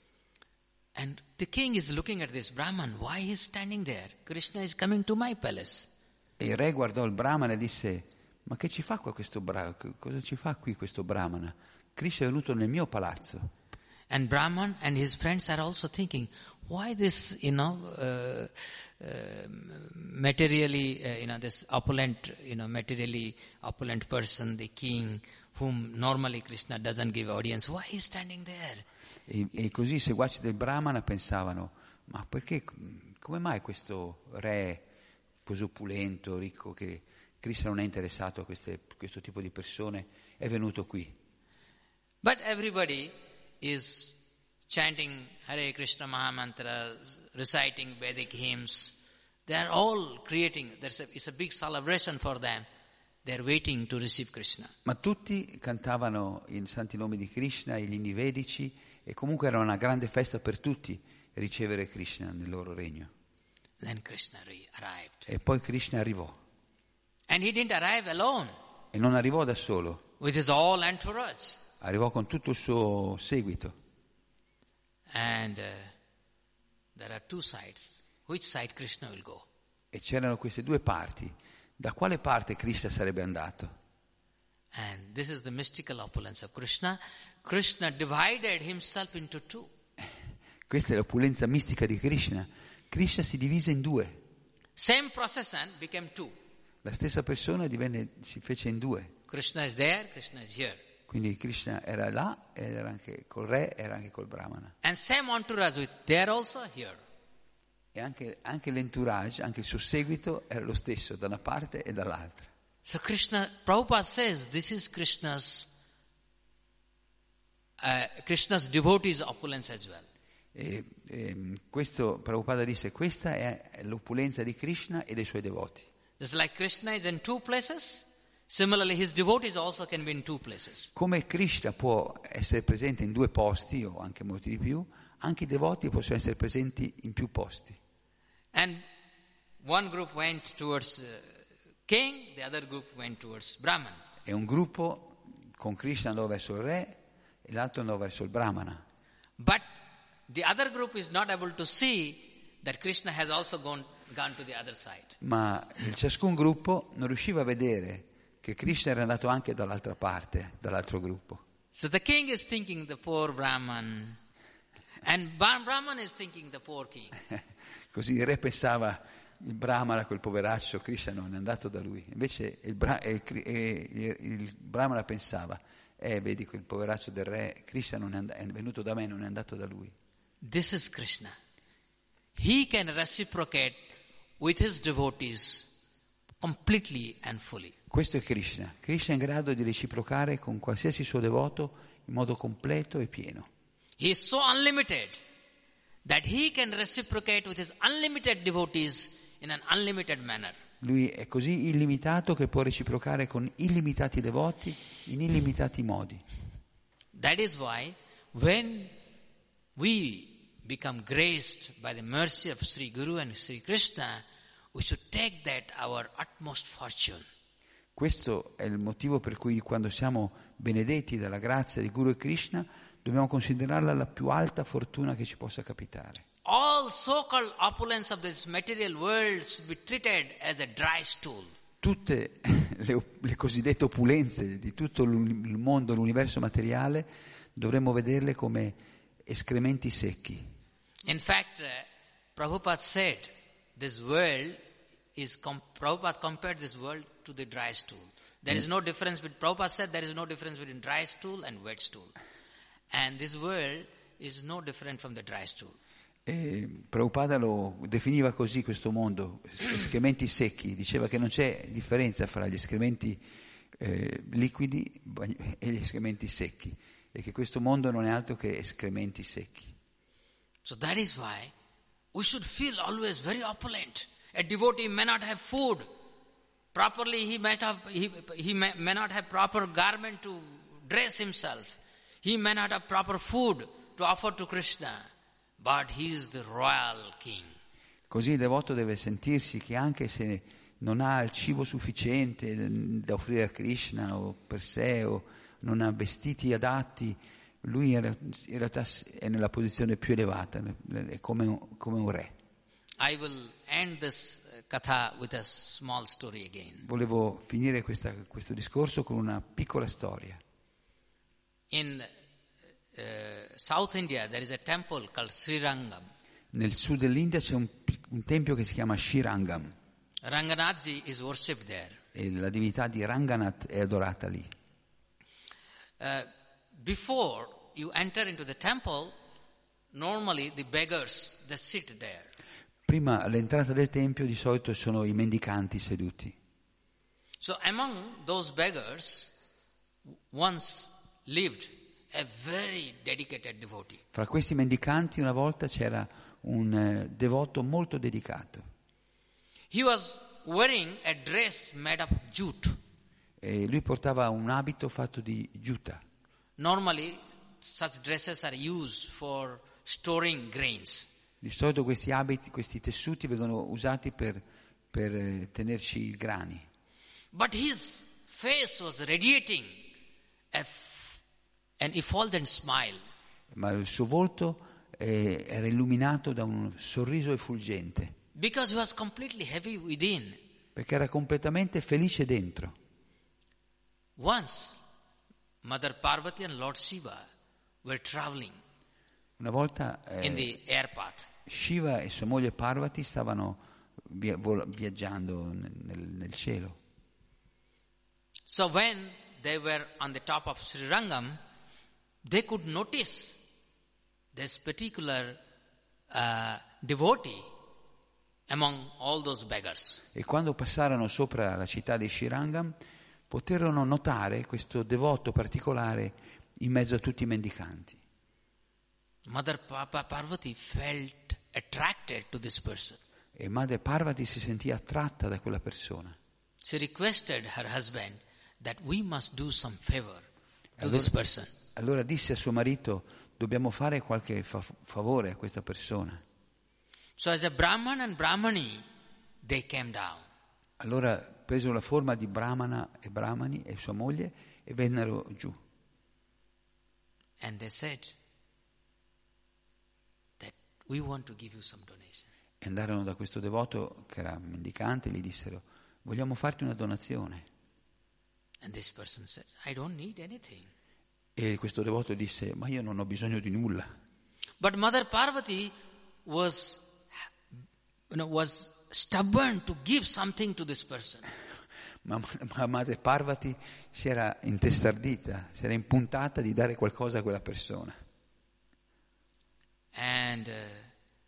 Speaker 2: And the king is looking at this Brahman. Why he is standing there? Krishna is coming to my palace.
Speaker 3: E il re guardò il Brahmana e disse: ma che ci fa qua questo Brahmana? Cosa ci fa qui questo Brahmana? Krishna è venuto nel mio palazzo.
Speaker 2: And Brahman and his friends are also thinking, why this, you know, uh, uh, materially, uh, you know, this opulent, you know, materially opulent person, the king, whom normally Krishna doesn't give audience, why he is standing there?
Speaker 3: E, e così i seguaci del Brahmana pensavano: ma perché, come mai questo re così opulento, ricco, che Krishna non è interessato a queste, questo tipo di persone, è venuto qui?
Speaker 2: But everybody is chanting Hare Krishna Mahamantra, reciting Vedic hymns. They are all creating, there's a, it's a big celebration for them. They are waiting to receive Krishna.
Speaker 3: Ma tutti cantavano i santi nomi di Krishna, gli inni vedici, e comunque era una grande festa per tutti ricevere Krishna nel loro regno.
Speaker 2: Then Krishna arrived.
Speaker 3: E poi Krishna arrivò.
Speaker 2: And he didn't arrive alone.
Speaker 3: E non arrivò da solo.
Speaker 2: With his all entourage.
Speaker 3: Arrivò con tutto il suo seguito.
Speaker 2: And uh, there are two sides. Which side Krishna will go?
Speaker 3: E c'erano queste due parti. Da quale parte Krishna sarebbe andato?
Speaker 2: And this is the mystical opulence of Krishna. Krishna divided himself into two.
Speaker 3: Questa è l'opulenza mistica di Krishna. Krishna si divise in due.
Speaker 2: Same procession became two.
Speaker 3: La stessa persona divenne, si fece in due.
Speaker 2: Krishna is there, Krishna is here.
Speaker 3: Quindi Krishna era là, ed era anche col re, era anche col Brahmana.
Speaker 2: And same entourage with there also, here.
Speaker 3: E anche, anche l'entourage, anche il suo seguito era lo stesso da una parte e dall'altra.
Speaker 2: So Krishna, Prabhupada says, this is Krishna's, uh, Krishna's devotees' opulence as well.
Speaker 3: E, e questo Prabhupada disse: questa è l'opulenza di Krishna e dei suoi devoti.
Speaker 2: Just like Krishna is in two places, similarly his devotees also can be in two places.
Speaker 3: Come Krishna può essere presente in due posti, o anche molti di più, anche i devoti possono essere presenti in più posti.
Speaker 2: And one group went towards uh, king, the other group went towards Brahman.
Speaker 3: E un gruppo con Krishna andò verso il re e l'altro andò verso il Brahmana.
Speaker 2: But the other group is not able to see that Krishna has also gone, gone to the other side.
Speaker 3: Ma ciascun gruppo non riusciva a vedere che Krishna era andato anche dall'altra parte, dall'altro gruppo.
Speaker 2: So the king is thinking the poor Brahman, and Brahman is thinking the poor king.
Speaker 3: Così il re pensava: il Brahmana, quel poveraccio, Krishna non è andato da lui. Invece il, Bra- e, e, e, il Brahmana pensava: eh, vedi quel poveraccio del re, Krishna non è, and- è venuto da me, non è andato da lui.
Speaker 2: This is Krishna. He can reciprocate with his devotees completely and fully.
Speaker 3: Questo è Krishna. Krishna è in grado di reciprocare con qualsiasi suo devoto in modo completo e pieno.
Speaker 2: He is so unlimited that he can reciprocate with his unlimited devotees in an unlimited manner.
Speaker 3: Lui è così illimitato che può reciprocare con illimitati devoti in illimitati modi.
Speaker 2: That is why when we become graced by the mercy of Sri Guru and Sri Krishna, we should take that our utmost fortune.
Speaker 3: Questo è il motivo per cui quando siamo benedetti dalla grazia di Guru e Krishna dobbiamo considerarla la più alta fortuna che ci possa capitare.
Speaker 2: All so-called opulence of this material world should be treated as a dry stool.
Speaker 3: Tutte le, le cosiddette opulenze di tutto il mondo, l'universo materiale, dovremmo vederle come escrementi secchi.
Speaker 2: In fact, uh, Prabhupada said this world is, com- Prabhupada compared this world to the dry stool. There is no difference, but Prabhupada said there is no difference between dry stool and wet stool. And this world is no different from the dry stool.
Speaker 3: E Prabhupada lo definiva così questo mondo, escrementi secchi, diceva che non c'è differenza fra gli escrementi eh, liquidi e gli escrementi secchi, e che questo mondo non è altro che escrementi secchi.
Speaker 2: So that is why we should feel always very opulent. A devotee may not have food. Properly he might have, he, he may, may not have proper garment to dress himself. He may not have proper food to offer to Krishna. But he is the royal king.
Speaker 3: Così il devoto deve sentirsi che anche se non ha il cibo sufficiente da offrire a Krishna o per sé, o non ha vestiti adatti, lui in realtà è nella posizione più elevata, è come un, come un re.
Speaker 2: I will end this katha with a small story again.
Speaker 3: Volevo finire questa, questo discorso con una piccola storia.
Speaker 2: In uh, South India there is a temple called Srirangam.
Speaker 3: Nel sud dell'India c'è un, un tempio che si chiama Srirangam.
Speaker 2: Ranganathji is worshipped there.
Speaker 3: E la divinità di Ranganath è adorata lì.
Speaker 2: Uh, before you enter into the temple, normally the beggars they sit there.
Speaker 3: Prima all'entrata del tempio di solito sono i mendicanti seduti.
Speaker 2: So among those beggars once lived a very dedicated devotee.
Speaker 3: Fra questi mendicanti una volta c'era un eh, devoto molto dedicato.
Speaker 2: He was wearing a dress made of jute.
Speaker 3: E lui portava un abito fatto di giuta.
Speaker 2: Normally such dresses are used for storing grains.
Speaker 3: Di solito questi abiti, questi tessuti vengono usati per, per eh, tenerci i grani.
Speaker 2: But his face was radiating a f- an effulgent smile.
Speaker 3: Ma il suo volto eh, era illuminato da un sorriso effulgente.
Speaker 2: Because he was completely happy within.
Speaker 3: Perché era completamente felice dentro.
Speaker 2: Once, Mother Parvati and Lord Shiva were traveling
Speaker 3: Una volta eh,
Speaker 2: in the air path.
Speaker 3: Shiva e sua moglie Parvati stavano via- vol- viaggiando nel, nel, nel cielo.
Speaker 2: So when they were on the top of Srirangam, they could notice this particular uh, devotee among all those beggars.
Speaker 3: E quando passarono sopra la città di Srirangam, poterono notare questo devoto particolare in mezzo a tutti i mendicanti.
Speaker 2: Mother Papa Parvati felt attracted to this person.
Speaker 3: E Madre Parvati si sentì attratta da quella persona.
Speaker 2: She requested her husband that we must do some favor to
Speaker 3: Allora-
Speaker 2: this person.
Speaker 3: Allora disse a suo marito: dobbiamo fare qualche fa- favore a questa persona.
Speaker 2: So as a Brahman and Brahmani, they came down.
Speaker 3: Allora presero la forma di Brahmana e Brahmani e sua moglie e vennero giù.
Speaker 2: And they said that we want to give you some donation.
Speaker 3: E andarono da questo devoto che era mendicante e gli dissero: vogliamo farti una donazione.
Speaker 2: And this person said, I don't need anything.
Speaker 3: E questo devoto disse: ma io non ho bisogno di nulla.
Speaker 2: But Mother Parvati was, you know, was stubborn to give something to this person.
Speaker 3: Ma, ma Madre Parvati si era intestardita, si era impuntata di dare qualcosa a quella persona.
Speaker 2: And, uh,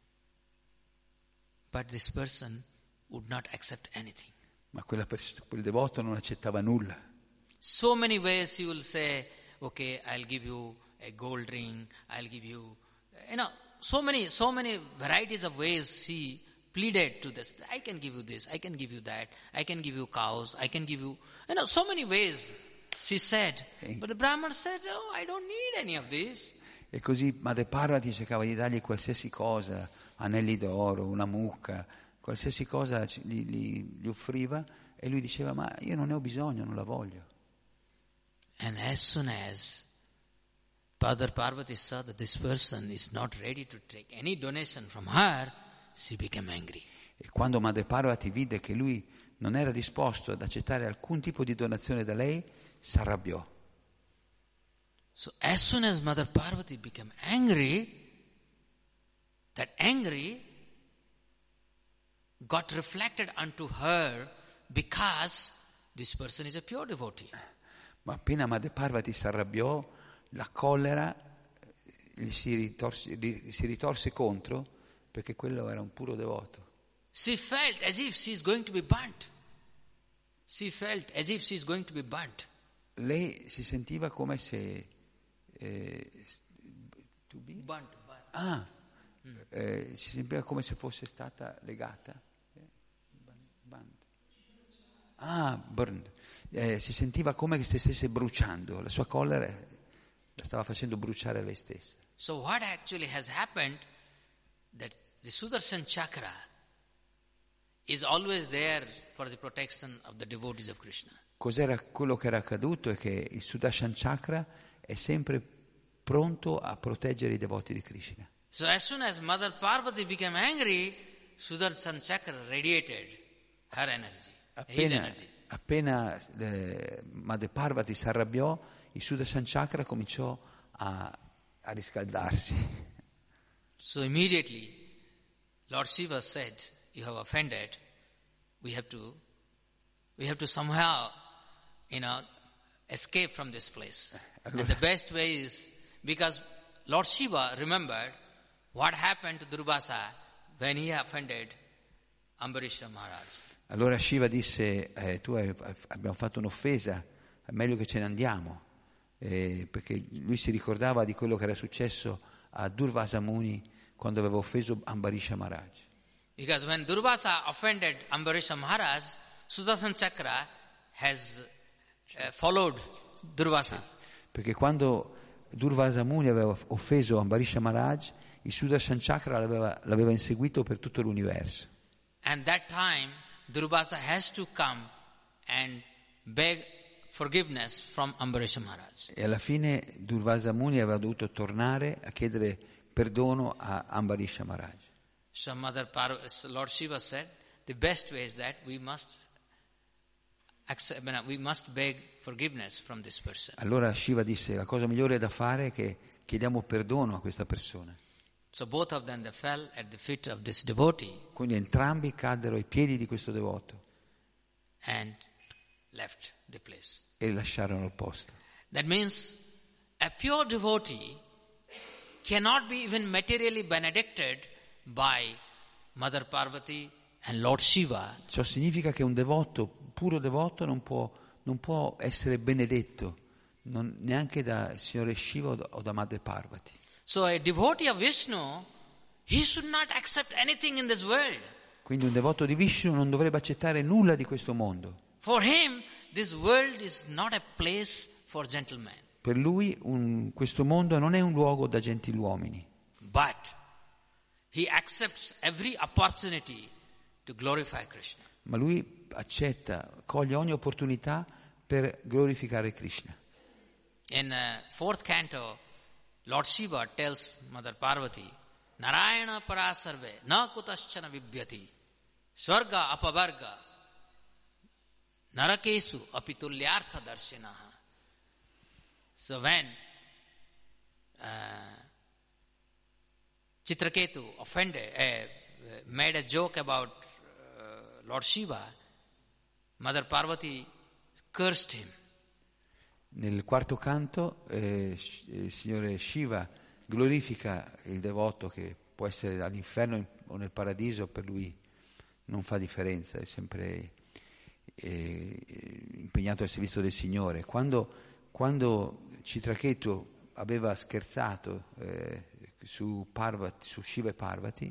Speaker 2: but this person would not accept anything.
Speaker 3: Ma quella pers- quel devoto non accettava nulla.
Speaker 2: So many ways he will say, okay, I'll give you a gold ring, I'll give you, you know, so many, so many varieties of ways he pleaded to this. I can give you this, I can give you that, I can give you cows, I can give you, you know, so many ways she said. But the Brahman said, oh, I don't need any of this.
Speaker 3: E così Madre Parvati cercava di dargli qualsiasi cosa, anelli d'oro, una mucca, qualsiasi cosa ci- gli, gli- gli offriva, e lui diceva: ma io non ne ho bisogno, non la voglio.
Speaker 2: And as soon as Mother Parvati saw that this person is not ready to take any donation from her, she became angry.
Speaker 3: E quando Madre Parvati vide che lui non era disposto ad accettare alcun tipo di donazione da lei, si arrabbiò.
Speaker 2: So as soon as Mother Parvati became angry, that angry got reflected unto her because this person is a pure devotee.
Speaker 3: Ma appena Madre Parvati si arrabbiò, la collera eh, gli si ritorse, gli si ritorse contro, perché quello era un puro devoto.
Speaker 2: She felt as if she is going to be burnt. She felt as if she is going to be burnt.
Speaker 3: Lei si sentiva come se eh, s- to be-
Speaker 2: Burnt, burnt.
Speaker 3: ah, eh, si sentiva come se fosse stata legata. Ah, burned. Eh, si sentiva come se stesse bruciando, la sua collera la stava facendo bruciare lei stessa.
Speaker 2: So what actually has happened, that the Sudarshan Chakra is always there for the protection of the devotees of Krishna.
Speaker 3: Cos'era quello che era accaduto? È che il Sudarshan Chakra è sempre pronto a proteggere i devoti di Krishna.
Speaker 2: So as soon as Mother Parvati became angry, Sudarshan Chakra radiated her energy, his
Speaker 3: Appena,
Speaker 2: energy.
Speaker 3: appena eh, Mother Parvati si arrabbiò, il Sudarshan Chakra cominciò a, a riscaldarsi.
Speaker 2: So immediately, Lord Shiva said, "You have offended. We have to, we have to somehow, you know, escape from this place."
Speaker 3: Allora,
Speaker 2: And the best way is because Lord Shiva remembered what happened to Durvasa when he offended Ambarisha Maharaj.
Speaker 3: allora Shiva disse, eh, tu hai, abbiamo fatto un'offesa, è meglio che ce ne andiamo, eh, perché lui si ricordava di quello che era successo a Durvasa Muni quando aveva offeso Ambarisha Maharaj.
Speaker 2: Because when Durvasa offended Ambarisha Maharaj, Sudarshan Chakra has uh, followed Durvasa.
Speaker 3: Perché quando Durvasa Muni aveva offeso Ambarisha Maharaj, il Sudarshan Chakra l'aveva, l'aveva inseguito per tutto l'universo.
Speaker 2: And that time, Durvasa has to come and beg forgiveness from Ambarisha Maharaj.
Speaker 3: E alla fine Durvasa Muni aveva dovuto tornare a chiedere perdono a Ambarisha Maharaj.
Speaker 2: So Mother Parv- Lord Shiva said, the best way is that we must accept, we must beg forgiveness from this person.
Speaker 3: Allora Shiva disse, la cosa migliore da fare è che chiediamo perdono a questa persona.
Speaker 2: So both of them they fell at the feet of this devotee
Speaker 3: Quindi entrambi caddero ai piedi di questo devoto
Speaker 2: and left the place.
Speaker 3: e lasciarono il posto.
Speaker 2: That means a pure devotee cannot be even materially benedicted by Mother Parvati and Lord Shiva.
Speaker 3: Ciò significa che un devoto, puro devoto, non può, non può essere benedetto non, neanche da Signore Shiva o da, o da Madre Parvati.
Speaker 2: So a devotee of Vishnu, he should not accept anything in this world.
Speaker 3: Quindi un devoto di Vishnu non dovrebbe accettare nulla di questo mondo.
Speaker 2: For him, this world is not a place for gentlemen.
Speaker 3: Per lui un, questo mondo non è un luogo da gentiluomini,
Speaker 2: But he accepts every opportunity to glorify Krishna.
Speaker 3: ma lui accetta, coglie ogni opportunità per glorificare Krishna.
Speaker 2: In uh, fourth canto, Lord Shiva tells Mother Parvati, Narayana parasarve na kutaschana vibhyati swarga apavarga narakesu apitulyartha darshinaha. So when uh, Chitraketu offended, uh, made a joke about uh, Lord Shiva, Mother Parvati cursed him.
Speaker 3: Nel quarto canto eh, il Signore Shiva glorifica il devoto che può essere all'inferno o nel paradiso, per lui non fa differenza, è sempre eh, impegnato al servizio del Signore. Quando, quando Chitraketu aveva scherzato eh, su, Parvati, su Shiva e Parvati,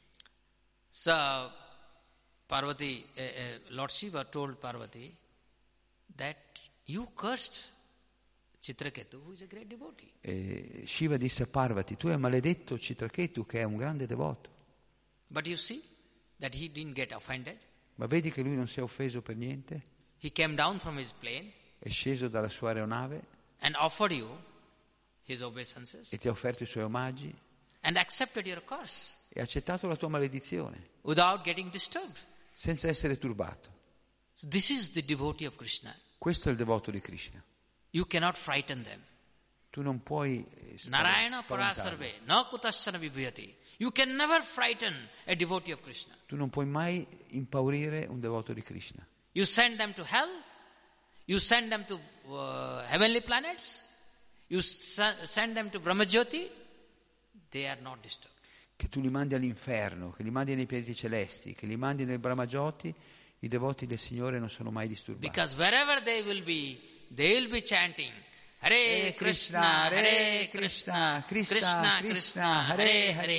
Speaker 2: so Parvati, uh, uh, Lord Shiva told Parvati that you cursed Chitraketu, who is a great devotee.
Speaker 3: eh, Shiva disse a Parvati, tu hai maledetto Chitraketu che è un grande devoto,
Speaker 2: But you see that he didn't get offended.
Speaker 3: ma vedi che lui non si è offeso per niente,
Speaker 2: He came down from his plane
Speaker 3: è sceso dalla sua aeronave
Speaker 2: and offered you his obeisances
Speaker 3: e ti ha offerto i suoi omaggi
Speaker 2: and accepted your curse
Speaker 3: e ha accettato la tua maledizione
Speaker 2: without getting disturbed.
Speaker 3: senza essere turbato.
Speaker 2: So this is the devotee of Krishna.
Speaker 3: Questo è il devoto di Krishna.
Speaker 2: You cannot frighten them.
Speaker 3: Tu non puoi eh,
Speaker 2: Narayana
Speaker 3: spaventarli.
Speaker 2: parasarve na kutaschana vibhyati. You can never frighten a devotee of Krishna.
Speaker 3: Tu non puoi mai impaurire un devoto di Krishna.
Speaker 2: You send them to hell. You send them to uh, heavenly planets. You s- send them to Brahmajyoti. They are not disturbed.
Speaker 3: Che tu li mandi all'inferno, che li mandi nei pianeti celesti, che li mandi nel Brahmajyoti, i devoti del Signore non sono mai disturbati.
Speaker 2: Because wherever they will be, they will be chanting Hare Krishna, Hare Krishna, Krishna Krishna, Hare Hare,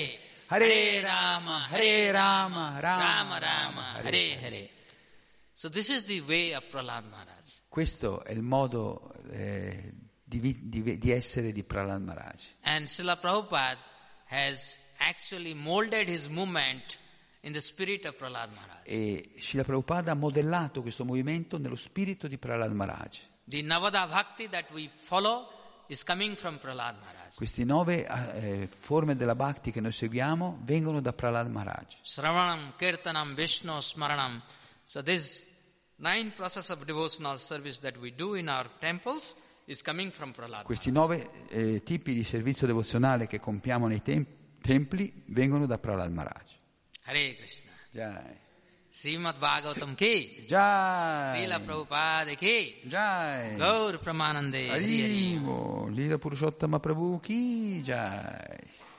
Speaker 3: Hare Rama, Hare Rama,
Speaker 2: Rama Rama, Hare Hare. So this is the way of Prahlad Maharaj.
Speaker 3: Questo è il modo eh, di, di, di essere di Prahlad Maharaj.
Speaker 2: And Srila Prabhupada has actually molded his movement in the spirit of Prahlad Maharaj.
Speaker 3: E Srila Prabhupada ha modellato questo movimento nello spirito di Prahlad Maharaj.
Speaker 2: The Navada Bhakti that we follow is coming from Prahlad Maharaj.
Speaker 3: Queste nove eh, forme della Bhakti che noi seguiamo vengono da Prahlad Maharaj.
Speaker 2: Sravanam, Kirtanam, Vishnu, Smaranam. So this nine process of devotional service that we do in our temples is coming from Prahlad
Speaker 3: Questi
Speaker 2: Maharaj.
Speaker 3: nove eh, tipi di servizio devozionale che compiamo nei tem- templi vengono da Prahlad Maharaj.
Speaker 2: Hare Krishna.
Speaker 3: Jai.
Speaker 2: Srimad Bhagavatam ki.
Speaker 3: Jai.
Speaker 2: Srila Prabhupada ki.
Speaker 3: Jai.
Speaker 2: Gaur Pramanande. Hari Hari.
Speaker 3: Arrivo. Lila Purushottama Prabhu ki Jai.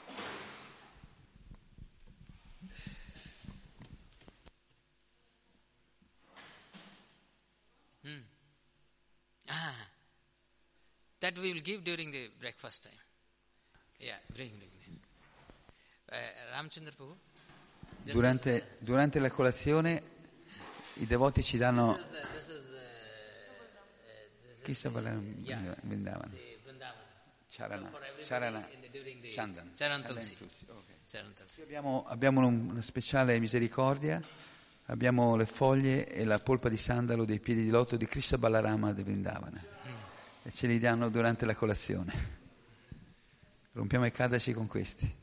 Speaker 2: Hmm. Ah, that we will give during the breakfast time. Yeah, bring, bring. Uh, Ramchandra Prabhu. This
Speaker 3: Durante,
Speaker 2: is, uh,
Speaker 3: durante la colazione i devoti ci danno
Speaker 2: this is, uh, this is, uh, uh, this
Speaker 3: chi
Speaker 2: is
Speaker 3: sta
Speaker 2: the-
Speaker 3: parlando?
Speaker 2: yeah,
Speaker 3: Vrindavan.
Speaker 2: the Vrindavan.
Speaker 3: Charana,
Speaker 2: For everybody
Speaker 3: Charana,
Speaker 2: in the- during the
Speaker 3: Chandan.
Speaker 2: Charan
Speaker 3: Chandan
Speaker 2: Tulsi.
Speaker 3: Tulsi, ok.
Speaker 2: Charan Tulsi.
Speaker 3: Abbiamo, abbiamo un- una speciale misericordia, abbiamo le foglie e la polpa di sandalo dei piedi di loto di Krishna Balarama di Vrindavana e ce li danno durante la colazione. Rompiamo i Kadashi con questi.